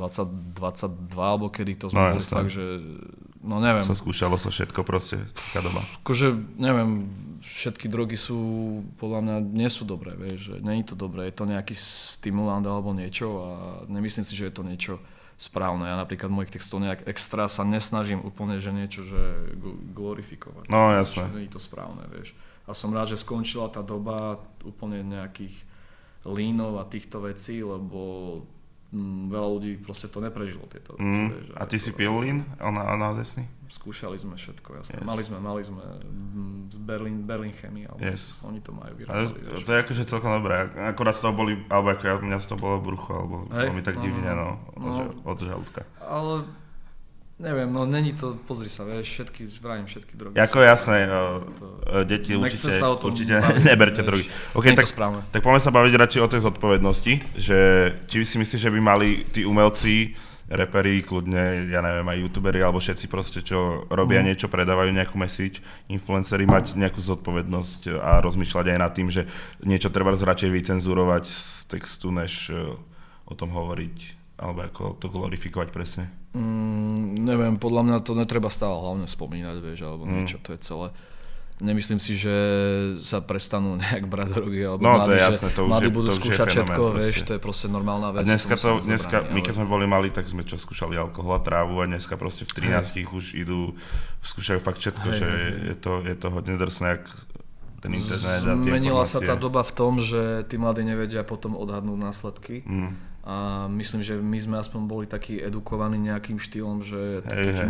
S2: 22 alebo kedy to sme boli fakt, že no neviem.
S1: Skúšalo sa všetko proste, taká doba.
S2: Akože neviem, všetky drogy sú, podľa mňa nie sú dobré, vieš, že nie je to dobré, je to nejaký stimulant alebo niečo a nemyslím si, že je to niečo správne. Ja napríklad mojich textov nejak extra sa nesnažím úplne, že niečo, že glorifikovať.
S1: No jasné.
S2: Nie je to správne, vieš. A som rád, že skončila tá doba úplne nejakých línov a týchto vecí, lebo veľa ľudí proste to neprežilo, tieto veci. Vieš,
S1: a ty si pil lín? Ona desný?
S2: Skúšali sme všetko, jasné. Yes. Mali sme z Berlin Chemie, alebo oni to majú vyrábali.
S1: To je akože celkom dobré. Akorát z toho boli, alebo ako mňa z toho bolo brucho, alebo veľmi tak divne, od žalúdka.
S2: Ale neviem, no není to, pozri sa, vieš, všetky drogy.
S1: Ako jasné, deti určite neberte drogy. Okay, tak poďme sa baviť radšej o tej zodpovednosti, že či si myslíš, že by mali tí umelci, reperi, kľudne, ja neviem, aj youtuberi, alebo všetci proste, čo robia niečo, predávajú nejakú message, influenceri, mať nejakú zodpovednosť a rozmýšľať aj nad tým, že niečo treba radšej vycenzurovať z textu, než o tom hovoriť, alebo ako to glorifikovať presne.
S2: Neviem, podľa mňa to netreba stále hlavne spomínať, vieš, alebo niečo, to je celé. Nemyslím si, že sa prestanú nejak brať drogy, alebo mladí budú skúšať všetko, vieš, to je proste normálna vec.
S1: A dneska my keď sme boli mali, tak sme skúšali alkohol a trávu a dneska proste v 13 už skúšajú fakt všetko, že je to hodne drsné, jak ten internet a tie
S2: Menila sa tá doba v tom, že tí mladí nevedia potom odhadnúť následky. A myslím, že my sme aspoň boli takí edukovaní nejakým štýlom, že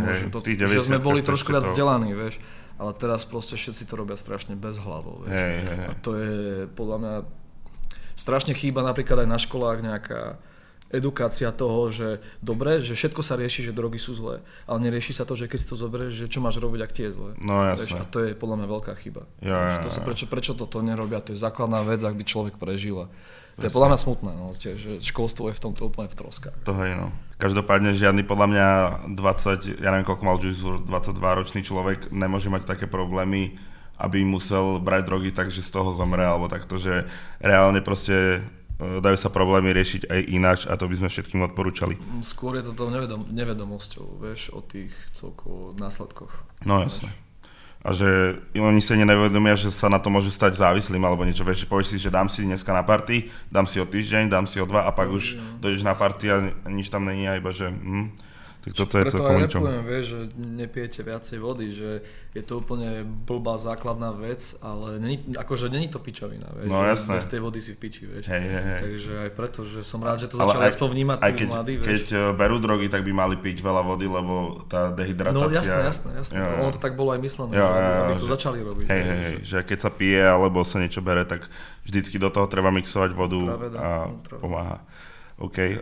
S2: že sme boli trošku viac vzdelaní, vieš. Ale teraz proste všetci to robia strašne bezhlavo, vieš. A to je podľa mňa strašne chýba napríklad aj na školách nejaká edukácia toho, že dobre, že všetko sa rieši, že drogy sú zlé, ale nerieši sa to, že keď si to zoberieš, že čo máš robiť, ak ti je zlé.
S1: No jasné.
S2: A to je podľa mňa veľká chyba. Prečo toto nerobia, to je základná vec, ak by človek prežil. To je podľa mňa smutné, no, že školstvo je v tomto úplne v troskách.
S1: To hej, no. Každopádne žiadny podľa mňa 20, ja neviem koľko mal Juice, 22-ročný človek nemôže mať také problémy, aby musel brať drogy tak, že z toho zomre, alebo takto, že reálne proste dajú sa problémy riešiť aj ináč a to by sme všetkým odporúčali.
S2: Skôr je to nevedomosťou, vieš, o tých celkovo následkoch.
S1: No jasne. A že oni sa nevedomia, že sa na to môže stať závislým alebo niečo. Vieš, povieš si, že dám si dneska na party, dám si o týždeň, dám si o 2 a pak už dojdeš na party a nič tam není a iba, že tak toto je celkom ničom.
S2: Preto aj repujem, vieš, že nepijete viacej vody, že je to úplne blbá základná vec, ale není to pičovina, vieš,
S1: no,
S2: že bez tej vody si v piči, vieš.
S1: Hej.
S2: Takže aj preto, že som rád, že to začali aspoň vnímať tí mladí, vieš.
S1: Keď berú drogy, tak by mali piť veľa vody, lebo tá dehydratácia...
S2: No jasné. Ono to tak bolo aj myslené, aby to začali robiť.
S1: Hej, že keď sa pije alebo sa niečo bere, tak vždycky do toho treba mixovať vodu a pomáha. OK.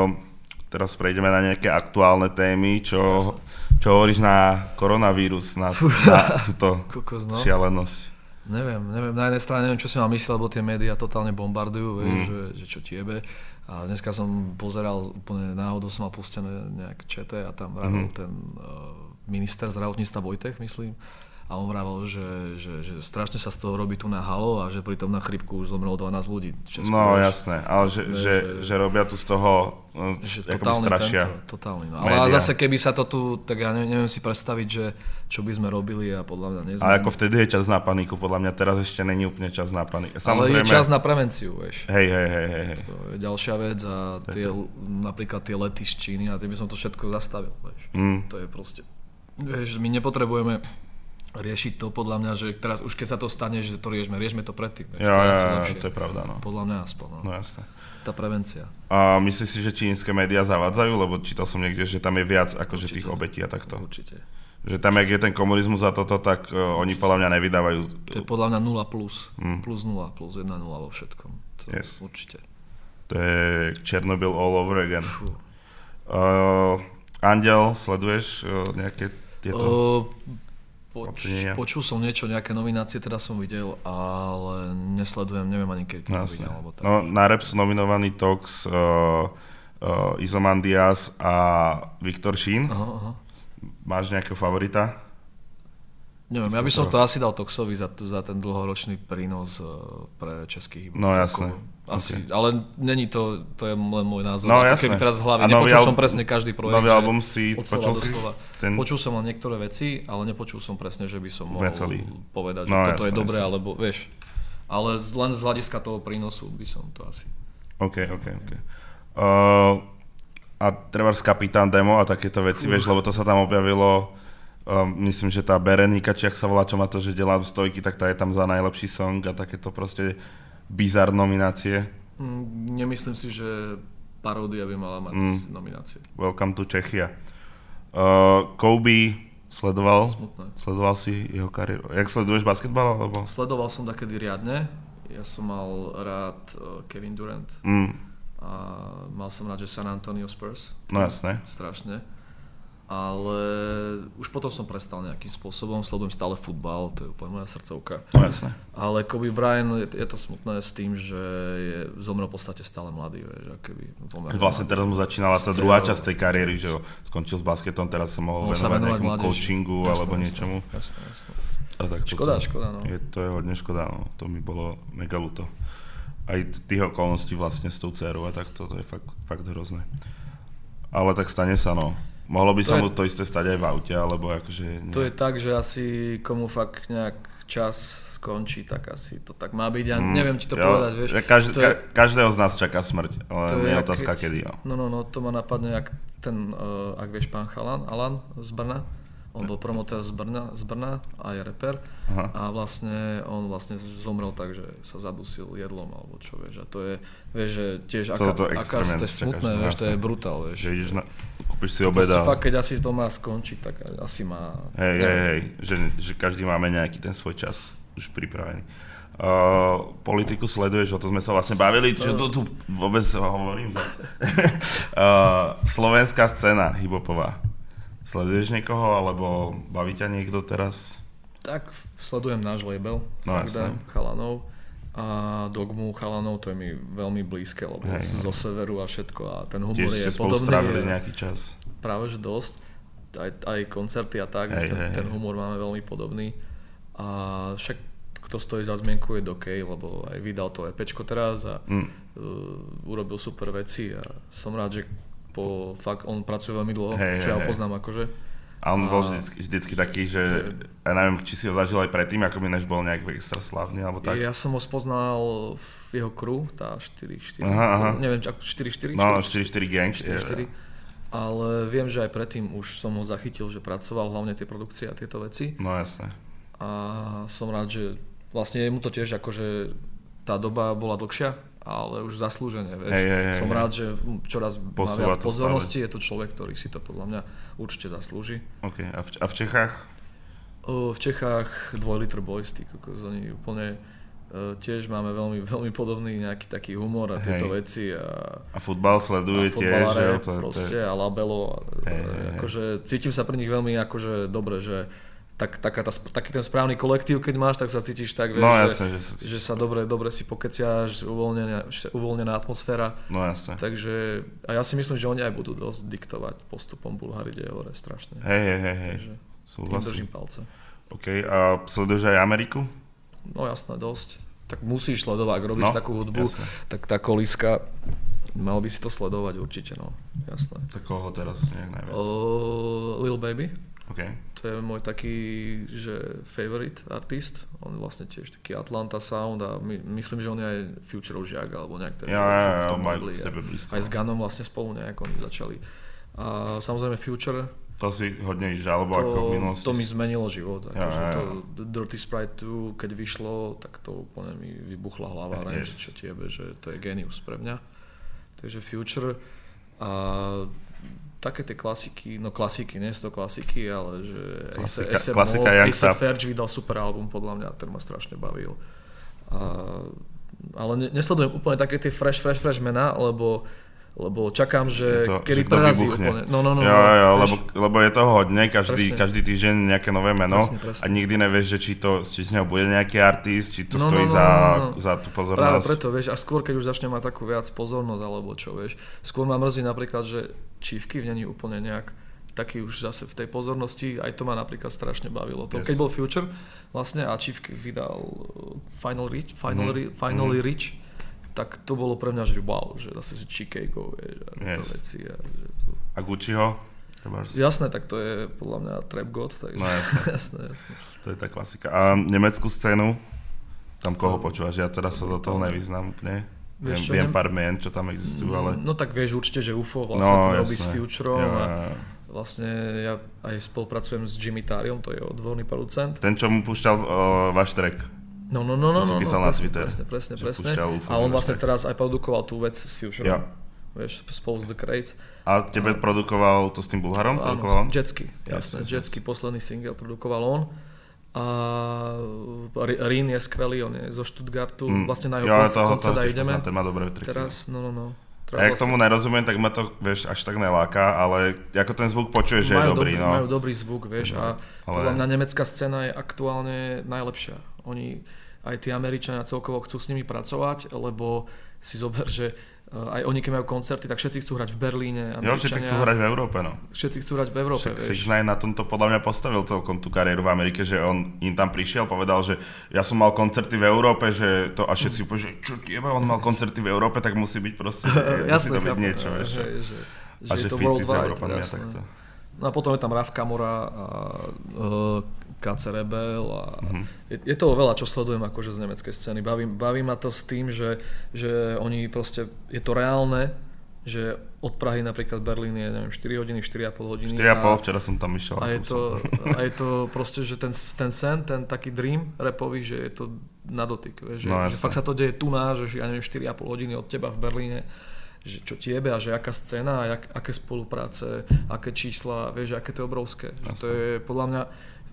S1: Teraz prejdeme na nejaké aktuálne témy, čo hovoríš na koronavírus, na túto šialenosť.
S2: Neviem, na jednej strane neviem, čo si mám myslieť, lebo tie médiá totálne bombardujú, vieš, že čo tiebe. A dneska som pozeral, úplne náhodou som mal pustené nejak čete a tam vravel ten minister zdravotníctva Vojtech, myslím. A on vravel, že strašne sa z toho robí tu na halo a že pritom na chrípku už zomrelo 12 ľudí.
S1: No jasné, ale že robia tu z toho strašia.
S2: Totálny. No. Ale zase keby sa to tu, tak ja neviem si predstaviť, že čo by sme robili a podľa mňa nezmeníme.
S1: Ale ako vtedy je čas na paniku, podľa mňa teraz ešte není úplne čas na paniku.
S2: Ale je čas na prevenciu, vieš.
S1: Hej.
S2: To je ďalšia vec a napríklad tie lety z Číny a tie by som to všetko zastavil, vieš. To je proste, vieš, my nepotrebujeme riešiť to podľa mňa, že teraz už keď sa to stane, že to riešme to predtým.
S1: To je pravda, no.
S2: Podľa mňa aspoň, no.
S1: No jasné.
S2: Tá prevencia.
S1: A myslíš si, že čínske médiá zavádzajú? Lebo čítal som niekde, že tam je viac akože tých obetí a takto.
S2: Určite.
S1: Že tam, jak je ten komunizmus a toto, tak oni podľa mňa nevydávajú.
S2: To je podľa mňa 0+. Plus 0, plus 1, 0 vo všetkom. Určite.
S1: To je Chernobyl all over again. Andiel, sleduješ nejaké tieto...
S2: Počul som niečo, nejaké nominácie teda som videl, ale nesledujem, neviem ani keď to videl.
S1: No, na rap sú nominovaní Tox, Izomandias a Viktor Šín.
S2: Aha.
S1: Máš nejakého favorita?
S2: Neviem, ja by som to asi dal Toxovi za ten dlhoročný prínos pre český hip.
S1: No jasné.
S2: Asi, ale není to je len môj názor.
S1: No
S2: keby teraz z hlavy, nepočul som presne každý projekt.
S1: Nový album si počul si?
S2: Počul som len niektoré veci, ale nepočul som presne, že by som mohol povedať, že toto je dobré, alebo vieš. Ale len z hľadiska toho prínosu by som to asi.
S1: OK. A trebárs Kapitán Demo a takéto veci, vieš, lebo to sa tam objavilo. Myslím, že tá Berenika, či ak sa volá, čo má to, že delá stojky, tak tá je tam za najlepší song a takéto proste bizar nominácie.
S2: Nemyslím si, že paródia by mala mať nominácie.
S1: Welcome to Czechia. Kobe sledoval?
S2: Smutné.
S1: Sledoval si jeho kariéru? Jak sleduješ basketbal? Alebo?
S2: Sledoval som takedy riadne. Ja som mal rád Kevin Durant. A mal som rád, že San Antonio Spurs.
S1: No jasné.
S2: Strašne. Ale už potom som prestal nejakým spôsobom, sledujem stále futbal, to je úplne moja srdcovka.
S1: No jasné.
S2: Ale Kobe Bryant, je to smutné s tým, že zomrel v podstate stále mladý.
S1: Vlastne teraz mu začínala tá druhá časť tej kariéry, že skončil s basketom, teraz sa mohol venovať nejakému coachingu alebo niečomu.
S2: Jasné.
S1: A tak
S2: škoda, no.
S1: To je hodne škoda, no. To mi bolo mega ľúto. Aj tých okolností vlastne s tou dcerou a tak to je fakt hrozné. Ale tak stane sa, no. Mohlo by sa mu to isté stať aj v aute, alebo akože...
S2: To je tak, že asi komu fakt nejak čas skončí, tak asi to tak má byť. Ja neviem ti to povedať, vieš.
S1: Každého z nás čaká smrť, ale nie je otázka kedy.
S2: No, to ma napadne, ak vieš pán Alan z Brna. On bol promotér z Brna a je reper. Aha. A on vlastne zomrel tak, že sa zadusil jedlom alebo čo, vieš. A to je, vieš, že tiež aká ste smutné, vieš, to je brutál, vieš.
S1: Že ideš kúpiš si obed a...
S2: Fakt, keď asi doma skončí, tak asi má...
S1: Hej, že každý máme nejaký ten svoj čas. už pripravený. Politiku sleduješ, o to sme sa vlastne bavili, čo tu vôbec hovorím zase. Slovenská scéna hip-hopová. Sleduješ niekoho, alebo baví ťa niekto teraz?
S2: Tak, sledujem náš label, chalanov a Dogmu chalanov, to je mi veľmi blízke, lebo zo severu a všetko a ten humor je podobný. Tiež ste spolu strávili nejaký čas. Práve, že dosť, aj koncerty a tak, ten humor máme veľmi podobný a však kto stojí za zmienku je Dokej, lebo aj vydal to EPčko teraz a urobil super veci a som rád, že fakt on pracuje veľmi dlho, čo ja ho poznám akože.
S1: A on bol vždycky taký, že ja neviem, či si ho zažil aj predtým, ako mi než bol nejak extra slávny, alebo tak.
S2: Ja som ho spoznal v jeho crew, tá 4-4, neviem, 4-4?
S1: No, 4-4 gang.
S2: 4-4. Ale viem, že aj predtým už som ho zachytil, že pracoval hlavne tie produkcie a tieto veci.
S1: No jasne.
S2: A som rád, že vlastne mu to tiež akože tá doba bola dlhšia, ale už zaslúžene, vieš. Som rád, že čoraz má viac pozornosti, je to človek, ktorý si to podľa mňa určite zaslúži.
S1: Okay. A v Čechách?
S2: V Čechách 2 Liter Boys, oni úplne tiež máme veľmi, veľmi podobný nejaký taký humor a tieto veci.
S1: A futbal sleduje tiež, že?
S2: Proste, a labelo. Akože cítim sa pri nich veľmi akože dobre, že taký ten správny kolektív, keď máš, tak sa cítiš tak, vieš,
S1: jasne,
S2: že sa dobre si pokeciaš, uvoľnená atmosféra.
S1: No jasne.
S2: Takže, a ja si myslím, že oni aj budú dosť diktovať postupom Bulhári ide hore strašne.
S1: Hej.
S2: Tým držím palce.
S1: OK, a sleduješ aj Ameriku?
S2: No jasné, dosť. Tak musíš sledovať, ak robíš takú hudbu, tak tá kolíska, mal by si to sledovať určite, no, jasné.
S1: Tak koho teraz nejak najviac?
S2: Lil Baby.
S1: Okay.
S2: To je môj taký, že favorite artist. On je vlastne tiež taký Atlanta sound a myslím, že on je aj Futureov žiak alebo nejak v tom mogli. Aj s Gunom vlastne spolu nejak oni začali. A samozrejme Future.
S1: To si hodne žalobo ako v minulosti.
S2: To mi zmenilo život. To Dirty Sprite 2, keď vyšlo, tak to úplne mi vybuchla hlava. Čo tiebe, že to je genius pre mňa. Takže Future a také tie klasiky, nie sú to klasiky, ale že A$AP Ferg vydal super album, podľa mňa, ten ma strašne bavil. Ale nesledujem úplne také tie fresh mená, lebo čakám, že kedy prerazí úplne. No,
S1: lebo je toho hodne, každý týždeň nejaké nové meno a nikdy nevieš, že či z neho bude nejaký artist, či to stojí za tú pozornosť.
S2: Práve preto, vieš, a skôr keď už začne mať takú viac pozornosť, alebo čo, vieš. Skôr ma mrzí napríklad, že Chiefky v není úplne nejak taký už zase v tej pozornosti, aj to ma napríklad strašne bavilo. To, keď bol Future vlastne a Chiefky vydal Finally Rich, tak to bolo pre mňa, že wow, že zase si Chicago, vieš, a tieto veci.
S1: A Gucciho?
S2: Jasné, tak to je podľa mňa Trap God, takže
S1: no,
S2: jasné.
S1: To je tá klasika. A nemeckú scénu? Tam koho počúvaš? Ja teda sa do toho nevyznám úplne. Viem pár mien, čo tam existujú, ale...
S2: No tak vieš určite, že UFO vlastne to robí s Futurom a vlastne ja aj spolupracujem s Jimmy Tariom, to je odborný producent.
S1: Ten, čo mu púšťal váš track.
S2: No,
S1: si písal na Twitter.
S2: Presne. A on vlastne teraz aj produkoval tú vec s Futurom. Vieš, spolu s The Crates.
S1: A tebe produkoval to s tým Bulharom?
S2: Áno, Jetsky, jasné. Jetsky, posledný single produkoval on. A Rin je skvelý, on je zo Stuttgartu. Vlastne na jeho koncert aj ideme.
S1: Ten má dobré triky.
S2: Teraz,
S1: Ja k tomu nerozumiem, tak ma to, vieš, až tak neláka, ale ako ten zvuk počuješ, že je dobrý.
S2: Majú dobrý zvuk, vieš, a podľa mňa nemecká scéna je aktuálne najlepšia. Oni, aj tí Američania celkovo chcú s nimi pracovať, lebo si zober, že aj oni, keď majú koncerty, tak všetci chcú hrať v Berlíne.
S1: Všetci chcú hrať v Európe, no.
S2: Všetci chcú hrať v Európe,
S1: vieš. Six9 na tomto podľa mňa postavil celkom tú kariéru v Amerike, že on im tam prišiel, povedal, že ja som mal koncerty v Európe, že to a všetci povedali, že čo tieba, on mal koncerty v Európe, tak musí byť proste, musí to byť niečo, vieš. A že fity s Európanmi a takto.
S2: No a potom je tam Raf Kamora a KC Rebel a je toho veľa, čo sledujem akože z nemeckej scény. Baví ma to s tým, že oni proste, je to reálne, že od Prahy napríklad Berlín je, neviem, 4 hodiny, 4,5 hodiny.
S1: 4,5, včera som tam išiel.
S2: A je to proste, že ten sen, ten taký dream rapový, že je to na dotyk, vieš, že fakt sa to deje tu že ja neviem, 4,5 hodiny od teba v Berlíne, že čo tiebe a že aká scéna a aké spolupráce, aké čísla, vieš, aké to je obrovské. Že to je podľa mňa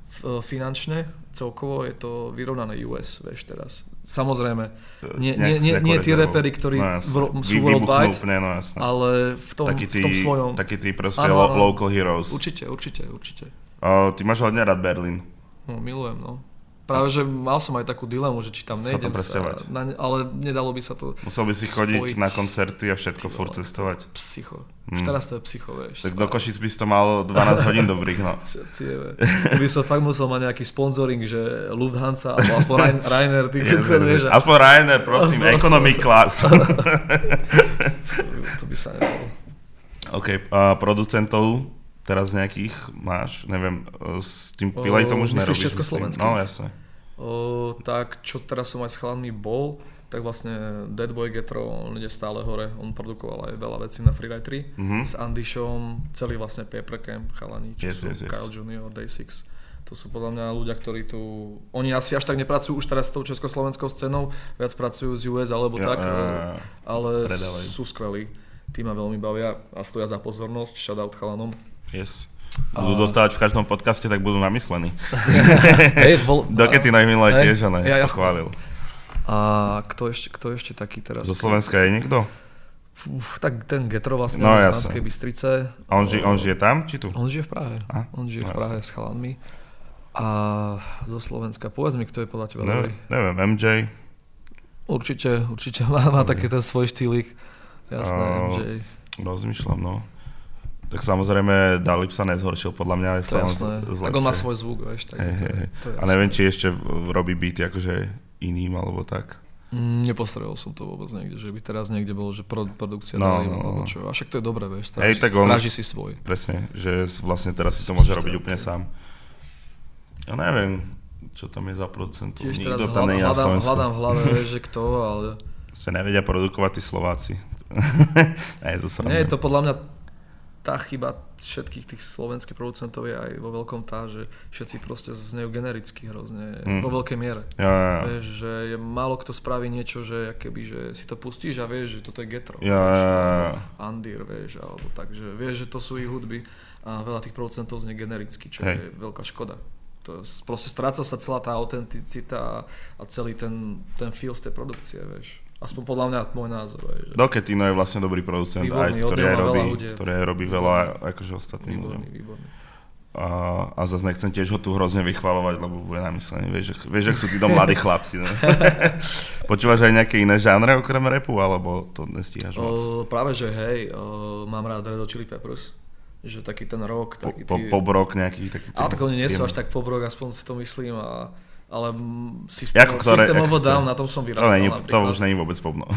S2: finančne, celkovo je to vyrovnané US, vieš teraz. Samozrejme, nie tí repery, ktorí sú worldwide,
S1: úplne, no,
S2: ale v tom svojom...
S1: Takí tí proste local heroes.
S2: Určite.
S1: Ty máš hodne rád Berlín.
S2: No, milujem, no. Práve, že mal som aj takú dilemu, že či tam nejdem ale nedalo by sa to
S1: musel by si chodiť na koncerty a všetko furt cestovať.
S2: Psycho. Už teraz to je psycho, vieš.
S1: Tak do Košic by si to mal 12 hodín dobrých, no.
S2: By som fakt musel mať nejaký sponzoring, že Lufthansa, alebo aspoň Ryanair, ty vieš.
S1: Aspoň Ryanair, prosím, economy class.
S2: To by sa nedalo.
S1: OK, producentov teraz nejakých máš, neviem, s tým Pilejtom už nerobíš.
S2: Myslíš československých?
S1: No, jasne.
S2: Tak, čo teraz som aj s chalanmi bol, tak vlastne Dead Boy Getro, on ide stále hore, on produkoval aj veľa vecí na Freeride 3, s Andyšom, celý vlastne Paper Camp, chalani, čo sú Kyle Jr., Day6. To sú podľa mňa ľudia, ktorí tu... Oni asi až tak nepracujú už teraz s tou československou scénou, viac pracujú z US alebo tak, ale sú skvelí. Tí ma veľmi bavia a stoja za pozornosť, shoutout chalanom.
S1: Yes. Budú dostávať v každom podcaste, tak budú namyslení. Dokedy najminulé tiež, ale pochválil.
S2: A kto ešte taký teraz?
S1: Zo Slovenska je niekto?
S2: Tak ten Getro vlastne z Banskej Bystrice.
S1: A on žije tam, či tu?
S2: On žije v Prahe. On žije v Prahe s chalanmi. A zo Slovenska, povedz mi, kto je podľa teba dobrý?
S1: Neviem, MJ.
S2: Určite má taký ten svoj štýlik. Jasné, MJ.
S1: Rozmýšľam, no. Tak samozrejme Dalip sa nezhoršil, podľa mňa je
S2: sa zlepšie. Tak on má svoj zvuk, vieš. Tak
S1: a neviem, či ešte robí beaty akože iným, alebo tak.
S2: Nepostrelil som to vôbec niekde, že by teraz niekde bolo, že produkcia Dalip, alebo čo. A však to je dobré, vieš, stráži si svoj.
S1: Presne, že vlastne teraz si to môže robiť úplne sám. Ja neviem, čo tam je za producentov.
S2: Tiež teraz hľadám v hlave, vieš, že kto, ale...
S1: Sa nevedia produkovať tí Slováci.
S2: Nie, je to podľa mňa tá chyba všetkých tých slovenských producentov je aj vo veľkom tá, že všetci proste znejú genericky hrozne, vo veľkej miere.
S1: Ja.
S2: Vieš, že je málo kto spraví niečo, že keby, že si to pustíš a vieš, že toto je Getro.
S1: Ja.
S2: Andir, vieš, alebo tak, že vieš, že to sú ich hudby a veľa tých producentov znie genericky, čo je veľká škoda. To je, proste stráca sa celá tá autenticita a celý ten feel z tej produkcie, vieš. Aspoň podľa mňa môj názor.
S1: Doketino je vlastne dobrý producent, ktorý aj robí veľa akože ostatným ľuďom.
S2: Výborný.
S1: A zase nechcem tiež ho tu hrozne vychvalovať, lebo bude namyslený. Vieš, ak sú títo mladí chlapci. Ne? Počúvaš aj nejaké iné žánre okrem rapu, alebo to nestíhaš moc?
S2: Práve, že mám rád Red Hot Chili Peppers. Že taký ten rock, taký
S1: pop rock nejaký taký.
S2: Ale tak oni nie sú až tak pop rock, aspoň si to myslím, ale systémovo Down, na tom som vyrastal napríklad.
S1: To už není vôbec pop, no.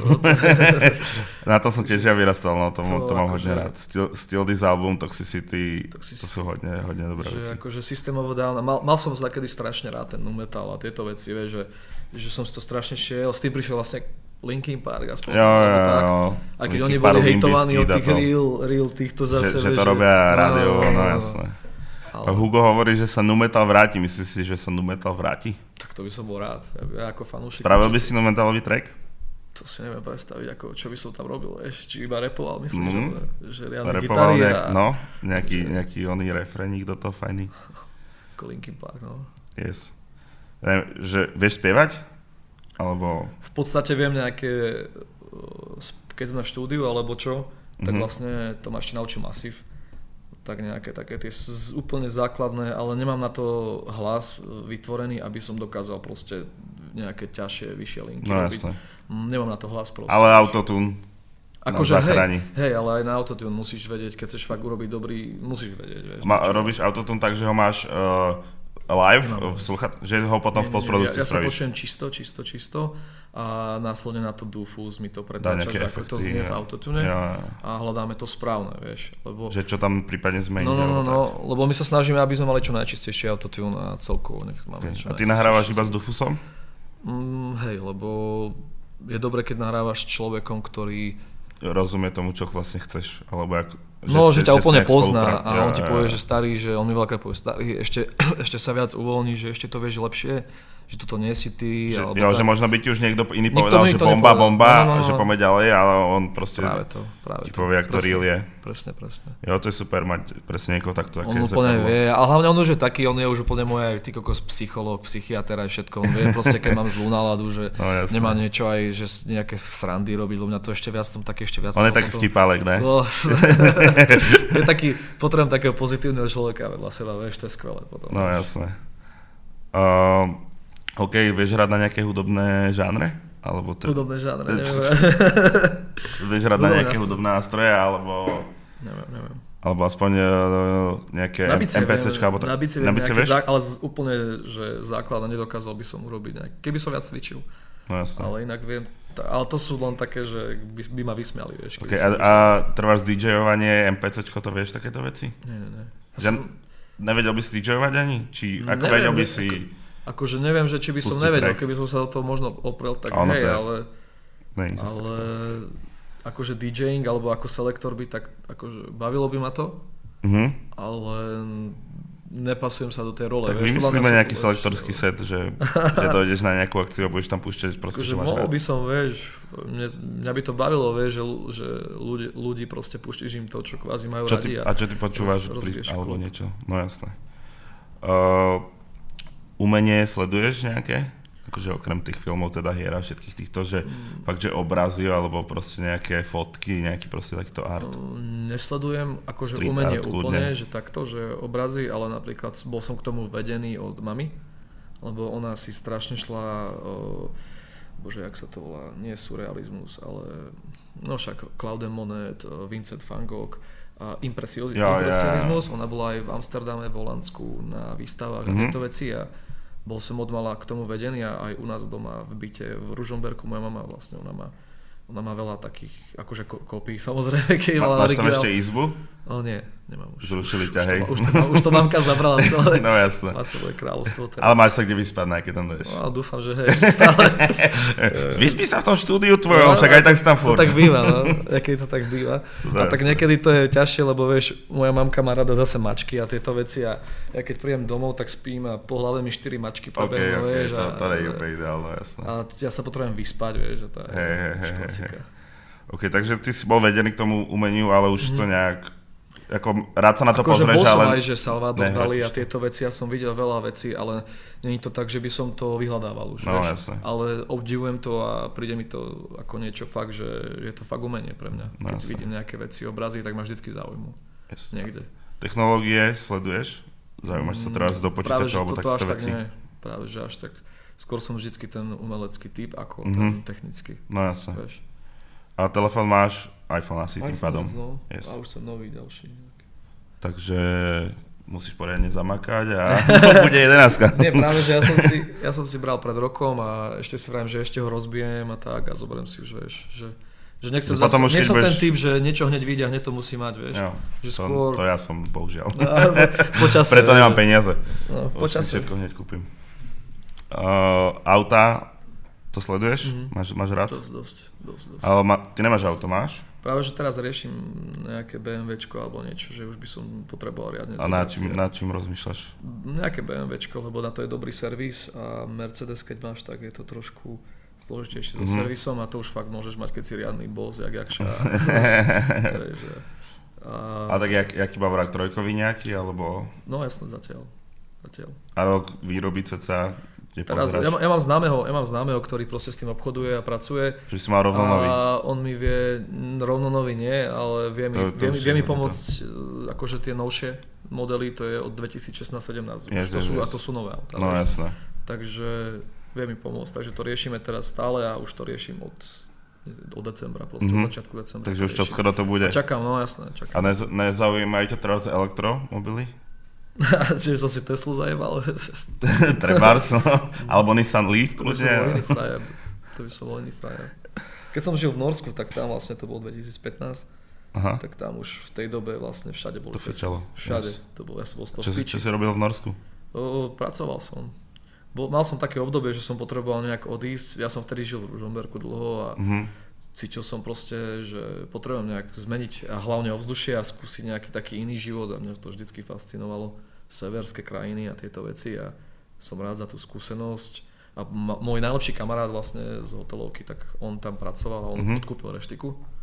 S1: Na tom som tiež ja vyrastal, no, to mám hodne rád. Still This Album, Toxicity, to sú hodne dobré veci.
S2: Akože systémovo Down, mal som takedy strašne rád ten nu metal a tieto veci, vieš, že som si to strašne šiel, s tým prišiel vlastne Linkin Park, aspoň tak. Aj keď oni boli hejtovaní od tých real týchto zase,
S1: že to robia rádio, no jasné. Hugo hovorí, že sa nu metal vráti. Myslíš si, že sa nu metal vráti?
S2: Tak to by som bol rád. Ja ako fanúšik.
S1: Spravil by si nu metalový track?
S2: To si neviem predstaviť, čo by som tam robil. Či iba rapoval, myslíš? Že riadne gitary
S1: No, nejaký oný refrénik do toho fajný.
S2: Ako Linkin Park, no.
S1: Yes. Že vieš spievať? Alebo...
S2: V podstate viem nejaké, keď sme v štúdiu alebo čo, tak vlastne to ma ešte naučil Masív. Tak nejaké také tie úplne základné, ale nemám na to hlas vytvorený, aby som dokázal proste nejaké ťažšie, vyššie linky robiť. Jasne. Nemám na to hlas proste.
S1: Ale autotune
S2: akože hej, ale aj na autotune musíš vedieť, keď chceš fakt urobiť dobrý, musíš vedieť. Vieš,
S1: robíš autotune tak, že ho máš live, že ho potom v postprodukcii spravíš?
S2: Ja sa počujem čisto a následne na to Dufus mi to pretáča, že ako to znie v autotune a hľadáme to správne, vieš. Lebo...
S1: Že čo tam prípadne zmení?
S2: No, lebo my sa snažíme, aby sme mali čo najčistejšie autotune a celkovo nech máme čo najčistejšie.
S1: A ty nahrávaš iba s Dufusom?
S2: Hej, lebo je dobre, keď nahrávaš s človekom, ktorý
S1: rozumie tomu, čo vlastne chceš, alebo
S2: že ťa úplne pozná a on ti povie, že starý, že on mi veľakrát povie starý, ešte sa viac uvoľní, že ešte to vieš lepšie, že toto nie si ty.
S1: Že možno by ti už niekto iný povedal, že bomba, že poďme ďalej, ale on proste ti povie, ak to real je.
S2: presne.
S1: Jo, to je super mať presne niekoho takto.
S2: On úplne vie, a hlavne on už je taký, on je už úplne môj ty kokos psychológ, psychiater aj všetko. On vie proste, keď mám zlú náladu, že nemá niečo aj, že nejaké srandy robiť, lebo mňa to ešte viac
S1: On je taký vtipálek, ne?
S2: No, je taký, potrebujem takého pozitívneho človeka vedľa seba, vieš, to je skvelé potom.
S1: No jasné. OK, vieš hrať na nejaké hudobné žánre? Alebo
S2: hudobné žánre, neviem.
S1: Vieš hrať na nejaké hudobné nástroje, alebo...
S2: Neviem.
S1: Alebo aspoň nejaké MPCčka, alebo
S2: Na bicie viem nejaké, ale úplne, že základ nedokázal by som urobiť keby som viac cvičil.
S1: No jasne.
S2: Ale inak viem, ale to sú len také, že by ma vysmiali, vieš.
S1: Okay, a trváš DJovanie, MPCčko, to vieš takéto veci?
S2: Nie.
S1: Nevedel by si DJovať ani? Či ako vedel by si...
S2: Akože neviem, že či by som nevedel, keby som sa do toho možno oprel, tak hej, ale akože DJing alebo ako selektor by tak akože bavilo by ma to, ale nepasujem sa do tej role.
S1: Tak vymyslíme nejaký selektorský set, že dojdeš na nejakú akciu a budeš tam púšťať proste, čo máš rád.
S2: Mohol by som, vieš, mňa by to bavilo, vieš, že ľudí proste púštíš im to, čo kvázi majú radi.
S1: A čo ty počúvaš alebo niečo? No jasné. Umenie sleduješ nejaké? Akože okrem tých filmov, teda hier a všetkých týchto, že fakt, že obrazy alebo proste nejaké fotky, nejaký proste takýto art?
S2: Nesledujem akože street umenie úplne, že takto, že obrazy, ale napríklad bol som k tomu vedený od mamy, lebo ona si strašne šla, bože, jak sa to volá, nie surrealizmus, ale no však Claude Monet, Vincent van Gogh, impresionizmus, ona bola aj v Amsterdame, v Holandsku na výstavách a tieto veci a bol som odmala k tomu vedený a aj u nás doma v byte v Ružomberku moja mama vlastne, ona má veľa takých, akože kópií samozrejme, keď mala
S1: máš tam ešte izbu?
S2: No nie, nemám už.
S1: Zrušili ťa, hej?
S2: Už to mamka zabrala celé.
S1: No jasne.
S2: Má svoje kráľovstvo teraz.
S1: Ale máš sa kde vyspať, keď tam dojdeš.
S2: No dúfam, že hej, stále.
S1: Vyspí sa v tom štúdiu tvojom, však aj tak si tam furt.
S2: To tak býva, no. Keď to tak býva. A tak niekedy to je ťažšie, lebo vieš, moja mamka má rada zase mačky a tieto veci a ja keď príjem domov, tak spím a po hlave mi 4 mačky prebehnú, vieš.
S1: To nie je úplne ideálne, jasné.
S2: A ja sa potrebujem vyspať, vieš, a tá škocika.
S1: OK, takže ty si bol vedený k tomu umeniu, ale už to nejak... Ako rád sa na to pozrieš, ale...
S2: Bol som aj, že Salvador Dali a tieto veci, ja som videl veľa vecí, ale nie je to tak, že by som to vyhľadával už,
S1: no,
S2: vieš. Ale obdivujem to a príde mi to ako niečo fakt, že je to fakt umenie pre mňa. Keď vidím nejaké veci, obrazy, tak ma vždycky zaujímu. Niekde.
S1: Technológie sleduješ? Zaujímaš sa teraz do počítača alebo takéto veci?
S2: Práve že až tak. Skôr som vždycky ten umelecký typ ako ten technický.
S1: No jasne. A telefón máš? iPhone asi tým pádom.
S2: No. Yes. A už som nový ďalší.
S1: Takže musíš poriadne zamakať a bude 11.
S2: Nie, práve, že ja som si bral pred rokom a ešte si vravím, že ešte ho rozbijem a tak a zoberiem si už, vieš, že nechcem zase, nie som ten typ, že niečo hneď vyjde a hneď to musím mať, vieš. Jo, že skôr...
S1: To ja som, bohužiaľ.
S2: Počasie.
S1: Preto nemám peniaze.
S2: No, počasie.
S1: Všetko hneď kúpim. Auta, to sleduješ? Máš rád?
S2: Dosť.
S1: Ale ty nemáš auto, máš?
S2: Práve, že teraz riešim nejaké BMWčko alebo niečo, že už by som potreboval riadne
S1: zobrať. A na čím rozmýšľaš?
S2: Nejaké BMWčko, lebo na to je dobrý servis a Mercedes, keď máš, tak je to trošku zložitejšie so servisom a to už fakt môžeš mať, keď si riadny boss, jakša.
S1: A tak jaký má vrak, trojkový nejaký, alebo?
S2: No jasne, zatiaľ.
S1: A rok výroby ceca?
S2: Teraz, ja mám známeho, ktorý proste s tým obchoduje a pracuje.
S1: Že si mal rovno nový.
S2: A on mi vie, rovno nový nie, ale vie mi pomôcť, akože tie novšie modely, to je od 2016-17, a to sú nové autá.
S1: No jasné.
S2: Takže vie mi pomôcť, takže to riešime teraz stále a už to riešim od decembra, proste od začiatku decembra.
S1: Takže už skoro to bude.
S2: Čakám, no jasné, čakám.
S1: A nezaujímajú ťa teraz elektromobily?
S2: Čiže som si Teslu zajebal.
S1: Trebárs, no. Alebo Nissan Leaf, kľudne.
S2: To by som bol iný frajer. Keď som žil v Norsku, tak tam vlastne to bolo 2015. Aha. Tak tam už v tej dobe vlastne všade boli Tesla. Všade. Yes. To bol, ja som bol z toho
S1: Čo si robil v Norsku?
S2: Pracoval som. Mal som také obdobie, že som potreboval nejak odísť. Ja som vtedy žil v Ružomberku dlho a cítil som proste, že potrebujem nejak zmeniť a hlavne ovzdušie a skúsiť nejaký taký iný život a mňa to vždycky fascinovalo, severské krajiny a tieto veci a som rád za tú skúsenosť a môj najlepší kamarát vlastne z hotelovky, tak on tam pracoval a on odkúpil reštiku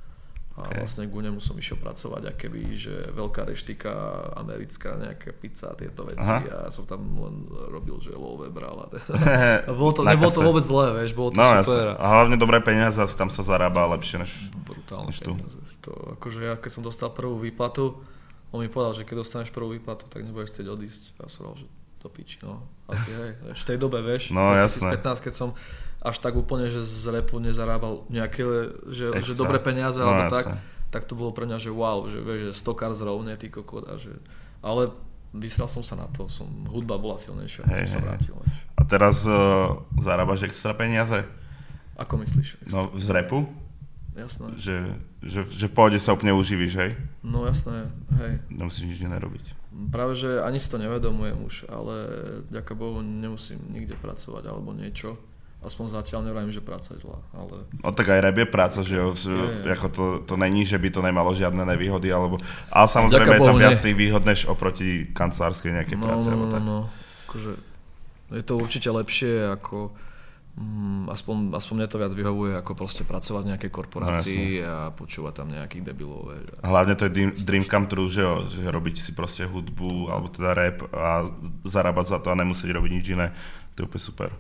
S2: A vlastne ku nemu som išiel pracovať, akéby, že veľká reštika, americká nejaká pizza, tieto veci. A ja som tam len robil, že love bral. Nebolo to vôbec zlé, vieš, bolo to super.
S1: A hlavne dobré peniaze, tam sa zarába lepšie než
S2: brutálne peniaze. To, akože ja, keď som dostal prvú výplatu, on mi povedal, že keď dostaneš prvú výplatu, tak nebudeš chcieť odísť. Ja som že to piči, no. Asi hej, v tej dobe, vieš,
S1: no,
S2: 2015, keď som až tak úplne, že z rapu nezarábal nejaké, že dobré peniaze, alebo tak to bolo pre mňa, že wow, že vieš, že stokár zrovne, ty kokot, ale vysral som sa na to, hudba bola silnejšia, som sa vrátil.
S1: A teraz zarábaš extra peniaze?
S2: Ako myslíš?
S1: No, z rapu?
S2: Jasné.
S1: Že v pohode sa úplne uživíš, hej?
S2: No jasné, hej.
S1: Nemusíš nič nerobiť.
S2: Práve, že ani si to nevedomujem už, ale ďaká Bohu nemusím nikde pracovať alebo niečo. Aspoň zatiaľ nevravím, že práca je zlá, ale...
S1: No tak aj rap je práca, že jo, ako to není, že by to nemalo žiadne nevýhody, alebo... Ale samozrejme je tam viac tých výhod, než oproti kancelárskej nejakej práce, alebo tak.
S2: No, akože je to určite lepšie, ako... Aspoň mne to viac vyhovuje, ako proste pracovať v nejakej korporácii a počúvať tam nejakých debilov.
S1: Hlavne to je dream come true, že jo, že robiť si proste hudbu, alebo teda rap a zarábať za to a nemusieť robiť nič iné. To je úplne super.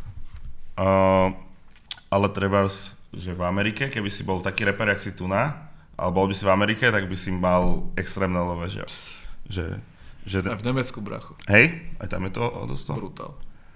S1: Ale trebárs, že v Amerike, keby si bol taký rapper, jak si tu ale bol by si v Amerike, tak by si mal extrémne lové, že
S2: aj v Nemecku, brachu.
S1: Hej? Aj tam je to dosť?
S2: Brutál.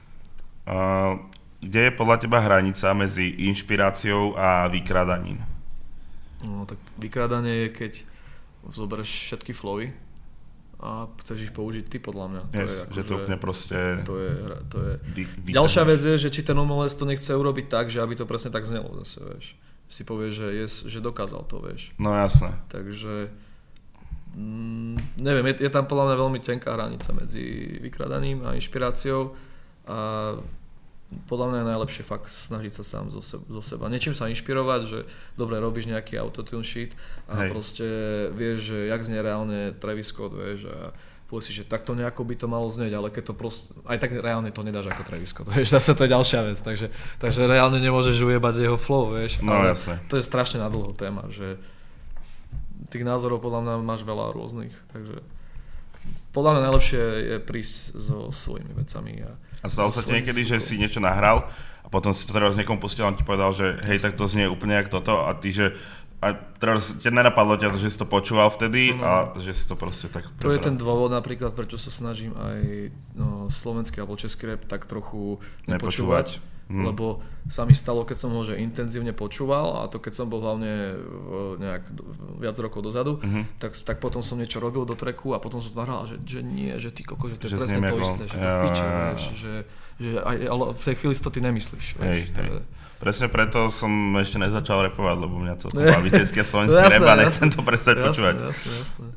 S1: Kde je podľa teba hranica medzi inšpiráciou a vykradaním?
S2: No tak vykrádanie je, keď zoberieš všetky flowy a chceš ich použiť ty, podľa mňa.
S1: Že to úplne proste...
S2: To je... Ďalšia vec je, že či ten umelec to nechce urobiť tak, že aby to presne tak znelo zase, vieš. Si povie, že dokázal to, vieš.
S1: No jasné.
S2: Takže... neviem, je tam podľa mňa veľmi tenká hranica medzi vykradaním a inšpiráciou a podľa mňa je najlepšie fakt snažiť sa sám zo seba. Niečím sa inšpirovať, že dobre, robíš nejaký autotune shit a proste vieš, že jak znie reálne Travis Scott, vieš, a povieš si, že takto nejako by to malo znieť, ale keď to proste, aj tak reálne to nedáš ako Travis Scott, vieš, zase to je ďalšia vec, takže reálne nemôžeš ujebať jeho flow, vieš,
S1: no,
S2: ale
S1: jasne.
S2: To je strašne nadlho téma, že tých názorov podľa mňa máš veľa rôznych, takže podľa mňa najlepšie je prísť so svojimi vecami.
S1: A stalo sa ti niekedy, že si niečo nahral a potom si to teraz niekomu pustil a on ti povedal, že hej, tak to znie úplne jak toto a ty, že a teraz ťa nenapadlo ťa, že si to počúval vtedy a že si to proste tak prebral.
S2: To je ten dôvod napríklad, prečo sa snažím aj slovenský alebo český rap tak trochu nepočúvať. Lebo sa mi stalo, keď som ho že intenzívne počúval a to keď som bol hlavne nejak viac rokov dozadu, tak potom som niečo robil do tracku a potom som nahral, že nie, že ty koko, že to je presne to isté, že to piče, vieš, že ale v tej chvíli si to ty nemyslíš. Vieš,
S1: presne preto som ešte nezačal rapovať, lebo mňa to baví český a slovenský rap a nechcem to prestať počúvať.
S2: Jasné.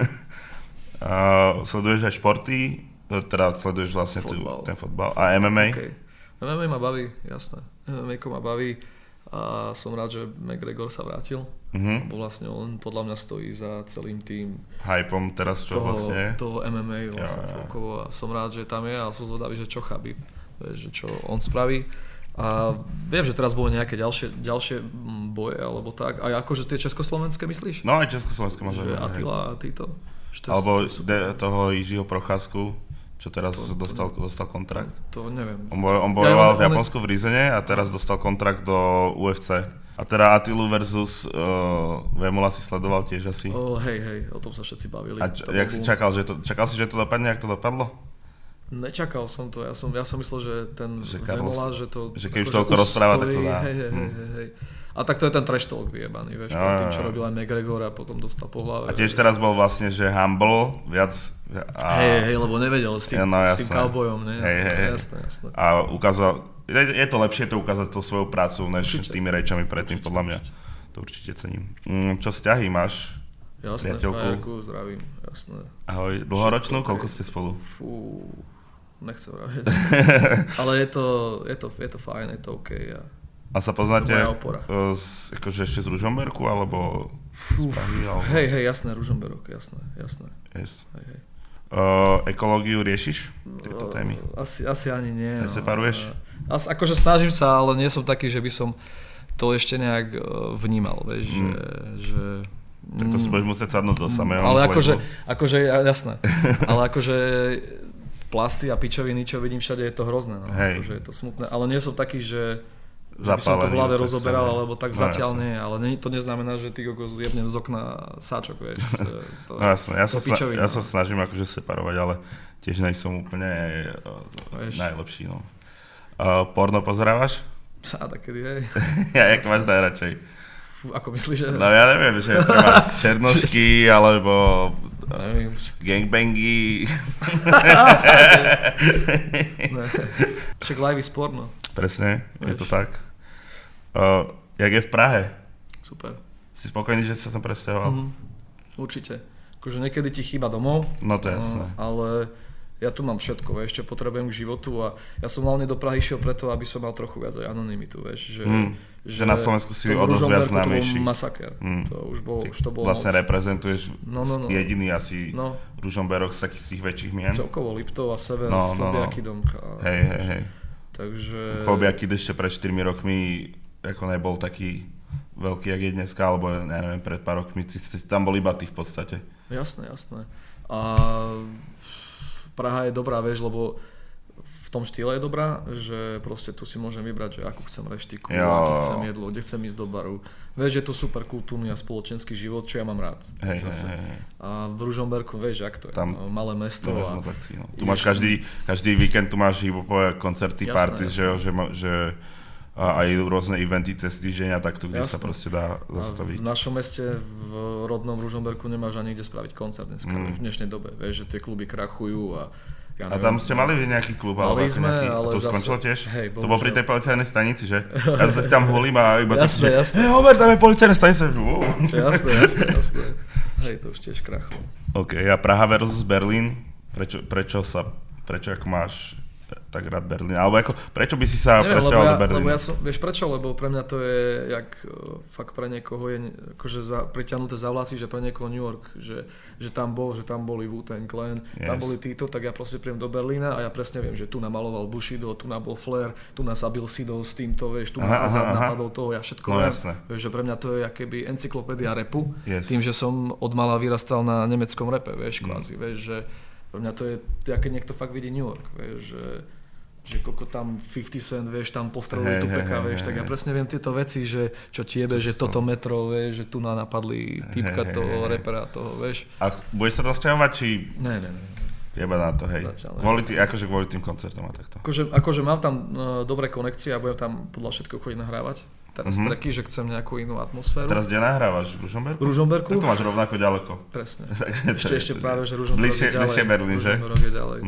S1: Sleduješ aj športy, teda sleduješ vlastne ten fotbal a MMA?
S2: Okay. MMA ma baví, jasné. MMA-ko ma baví a som rád, že McGregor sa vrátil. Lebo vlastne on podľa mňa stojí za celým tým
S1: hypom teraz čo vlastne?
S2: Toho MMA vlastne celkovo a som rád, že tam je a som zvedavý, že čo Khabib, že čo on spraví. A viem, že teraz boli nejaké ďalšie boje alebo tak. A akože tie československé myslíš?
S1: No aj československé možno.
S2: Že Attila a títo?
S1: Alebo toho Jiřího Procházku. Čo teraz dostal kontrakt?
S2: To neviem.
S1: On bojoval v Japonsku v Rizene a teraz dostal kontrakt do UFC. A teda Attilu versus Vémola si sledoval tiež asi?
S2: Hej, o tom sa všetci bavili.
S1: A jak si čakal si, že to dopadne, jak to dopadlo?
S2: Nečakal som to, ja som myslel, že ten Vémola, že to...
S1: Že keď už toľko rozpráva, tak to dá.
S2: Hej. A tak to je ten trash talk vyjebaný, vieš, tým, čo robil aj McGregor a potom dostal po hlave.
S1: A tiež teraz bol vlastne, že humble, viac...
S2: Hej, lebo nevedel s tým cowboyom, ne?
S1: Hej.
S2: Jasné.
S1: A ukázal, je to lepšie to ukázať tou svojou prácu, než tými rečami predtým, podľa mňa. To určite cením. Čo vzťahy máš?
S2: Jasné, frajerku, zdravím, jasné.
S1: Ahoj, dlhoročnú? Koľko ste spolu?
S2: Fú, nechcem vraviť. Ale je to fajn, je to OK.
S1: A sa poznáte akože ešte z Ružomberku, alebo z Prahy?
S2: Hej, jasné, Ružomberok, jasné.
S1: Yes. Hej. Ekológiu riešiš? Tieto témy?
S2: Asi ani nie.
S1: Neseparuješ?
S2: Akože snažím sa, ale nie som taký, že by som to ešte nejak vnímal, vieš, že
S1: tak to si budeš musieť sadnúť do samého.
S2: Ale akože, jasné, ale akože plasty a pičoviny, čo vidím všade, je to hrozné, no. Akože je to smutné, ale nie som taký, že by som to v hlave rozoberal, alebo tak zatiaľ nie, ale to neznamená, že ty zjebnem z okna sáčok, vieš.
S1: No jasné, ja sa snažím akože separovať, ale tiež nejsom úplne najlepší, no. Porno pozerávaš?
S2: Takedy, hej.
S1: Ja, jak máš najradšej?
S2: Ako myslíš, že...
S1: No ja neviem, že treba černošky, alebo gangbangy.
S2: Však live is porno.
S1: Presne, je to tak. Jak je v Prahe?
S2: Super.
S1: Si spokojný, že si sa sem presťahoval?
S2: Určite. Akože niekedy ti chýba domov.
S1: No to je jasné.
S2: Ale ja tu mám všetko, vieš, čo potrebujem k životu a ja som hlavne do Prahy šiel preto, aby som mal trochu viac aj anonymitu, vieš,
S1: že na Slovensku si o dosť viac známejší.
S2: To bol masaker, to bolo
S1: vlastne
S2: moc.
S1: Reprezentuješ jediný asi Ružomberok z takých tých väčších mien.
S2: Celkovo Liptov a Sever s Fobiakidom.
S1: Hej.
S2: Takže...
S1: Fobiakid ešte pred 4 rokmi ako nebol taký veľký, jak je dneska, alebo ja neviem, pred pár rokmi si tam bol iba ty v podstate.
S2: Jasné. A Praha je dobrá, vieš, lebo v tom štýle je dobrá, že proste tu si môžem vybrať, že akú chcem reštiku, aký chcem jedlo, kde chcem ísť do baru. Vieš, je to super kultúrny a spoločenský život, čo ja mám rád. Hej. A v Ružomberku, vieš, jak to je, tam, malé mesto.
S1: Tu máš každý víkend, tu máš hip-hopové koncerty, party, že a aj rôzne eventy cez týždeň a takto, kde sa proste dá zastaviť.
S2: V našom meste, v rodnom Ružomberku nemáš ani kde spraviť koncert dneska, v dnešnej dobe. Vieš, že tie kluby krachujú a ja neviem.
S1: A tam ste mali nejaký klub?
S2: Mali sme, ale
S1: to
S2: zase...
S1: skončilo tiež?
S2: Hej,
S1: to bolo pri tej policajnej stanici, že? Ja sa tam hulím a iba
S2: jasné.
S1: Homer, tam je policajná stanica.
S2: Jasné. Hej, to už tiež krachlo.
S1: OK, a Praha versus Berlín? Prečo ako máš tak rád Berlín? Alebo ako, prečo by si sa presťahoval do Berlína?
S2: Lebo ja som, vieš prečo? Lebo pre mňa to je, jak fakt pre niekoho je akože priťahnuté za vlasy, že pre niekoho New York, že tam boli Wu-Tang Clan, tam boli títo, tak ja proste príjem do Berlína a ja presne viem, že tu namaloval Bushido, tu bol Flair, tu zabil Sido s týmto, vieš, tu Azad napadol toho, ja všetko viem. Vieš, že pre mňa to je akéby encyklopédia rapu, tým, že som od mala vyrastal na nemeckom rape, vieš, kvázi, vieš, že pre mňa to je, keď niekto fakt vidí New York, vieš, že koľko tam 50 Cent, vieš, tam postrelili Tupeka, vieš, tak ja presne viem tieto veci, že čo tiebe, že toto metro, vieš, že tu napadli týpka toho repera, toho, vieš. A
S1: budeš sa tam sťahovať, či...
S2: Ne.
S1: Teba na to, hej. Kvôli tým koncertom a takto.
S2: Akože mám tam dobré konekcie a budem tam podľa všetko chodiť nahrávať. Teraz tracky, že chcem nejakú inú atmosféru.
S1: Teraz kde nahrávaš? V Ružomberku?
S2: V Ružomberku.
S1: Tak to máš rovnako ďaleko.
S2: Presne. Ešte práve, že Ružomberok je ďalej.
S1: Bližšie Berlín, že?
S2: Ružomberok je ďalej.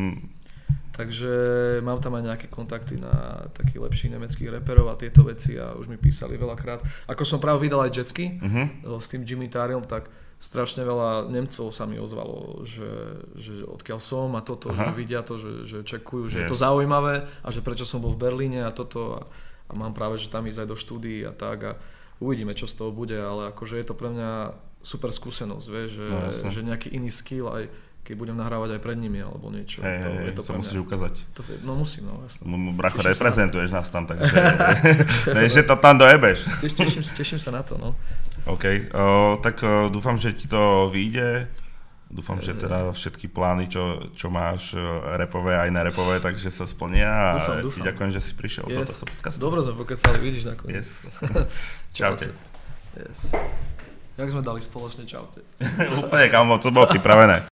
S2: Takže mám tam aj nejaké kontakty na takých lepších nemeckých reperov a tieto veci a už mi písali veľakrát. Ako som práve vydal aj Jetsky s tým Jimmy Tariom, tak strašne veľa Nemcov sa mi ozvalo, že odkiaľ som a toto, že vidia to, že čekujú, že je to zaujímavé a že prečo som bol v Berlíne a toto a mám práve, že tam ísť aj do štúdií a tak a uvidíme, čo z toho bude, ale akože je to pre mňa super skúsenosť, vieš, že nejaký iný skill aj keď budem nahrávať aj pred nimi alebo niečo. Je to
S1: pre mňa. Musíš ukázať.
S2: No musím, no jasne.
S1: Bracho, reprezentuješ nás tam, takže že to tam dojebeš.
S2: Teším sa na to, no.
S1: OK, tak dúfam, že ti to vyjde. Dúfam, že teda všetky plány, čo máš rapové aj nerapové, takže sa splnia a ti ďakujem, že si prišiel do tohto podcastu.
S2: Dobre sme pokecali, vidíš nakoniec.
S1: Yes. Čaute.
S2: Yes. Jak sme dali spoločne čaute.
S1: Úplne, kamo, to bolo pripravené.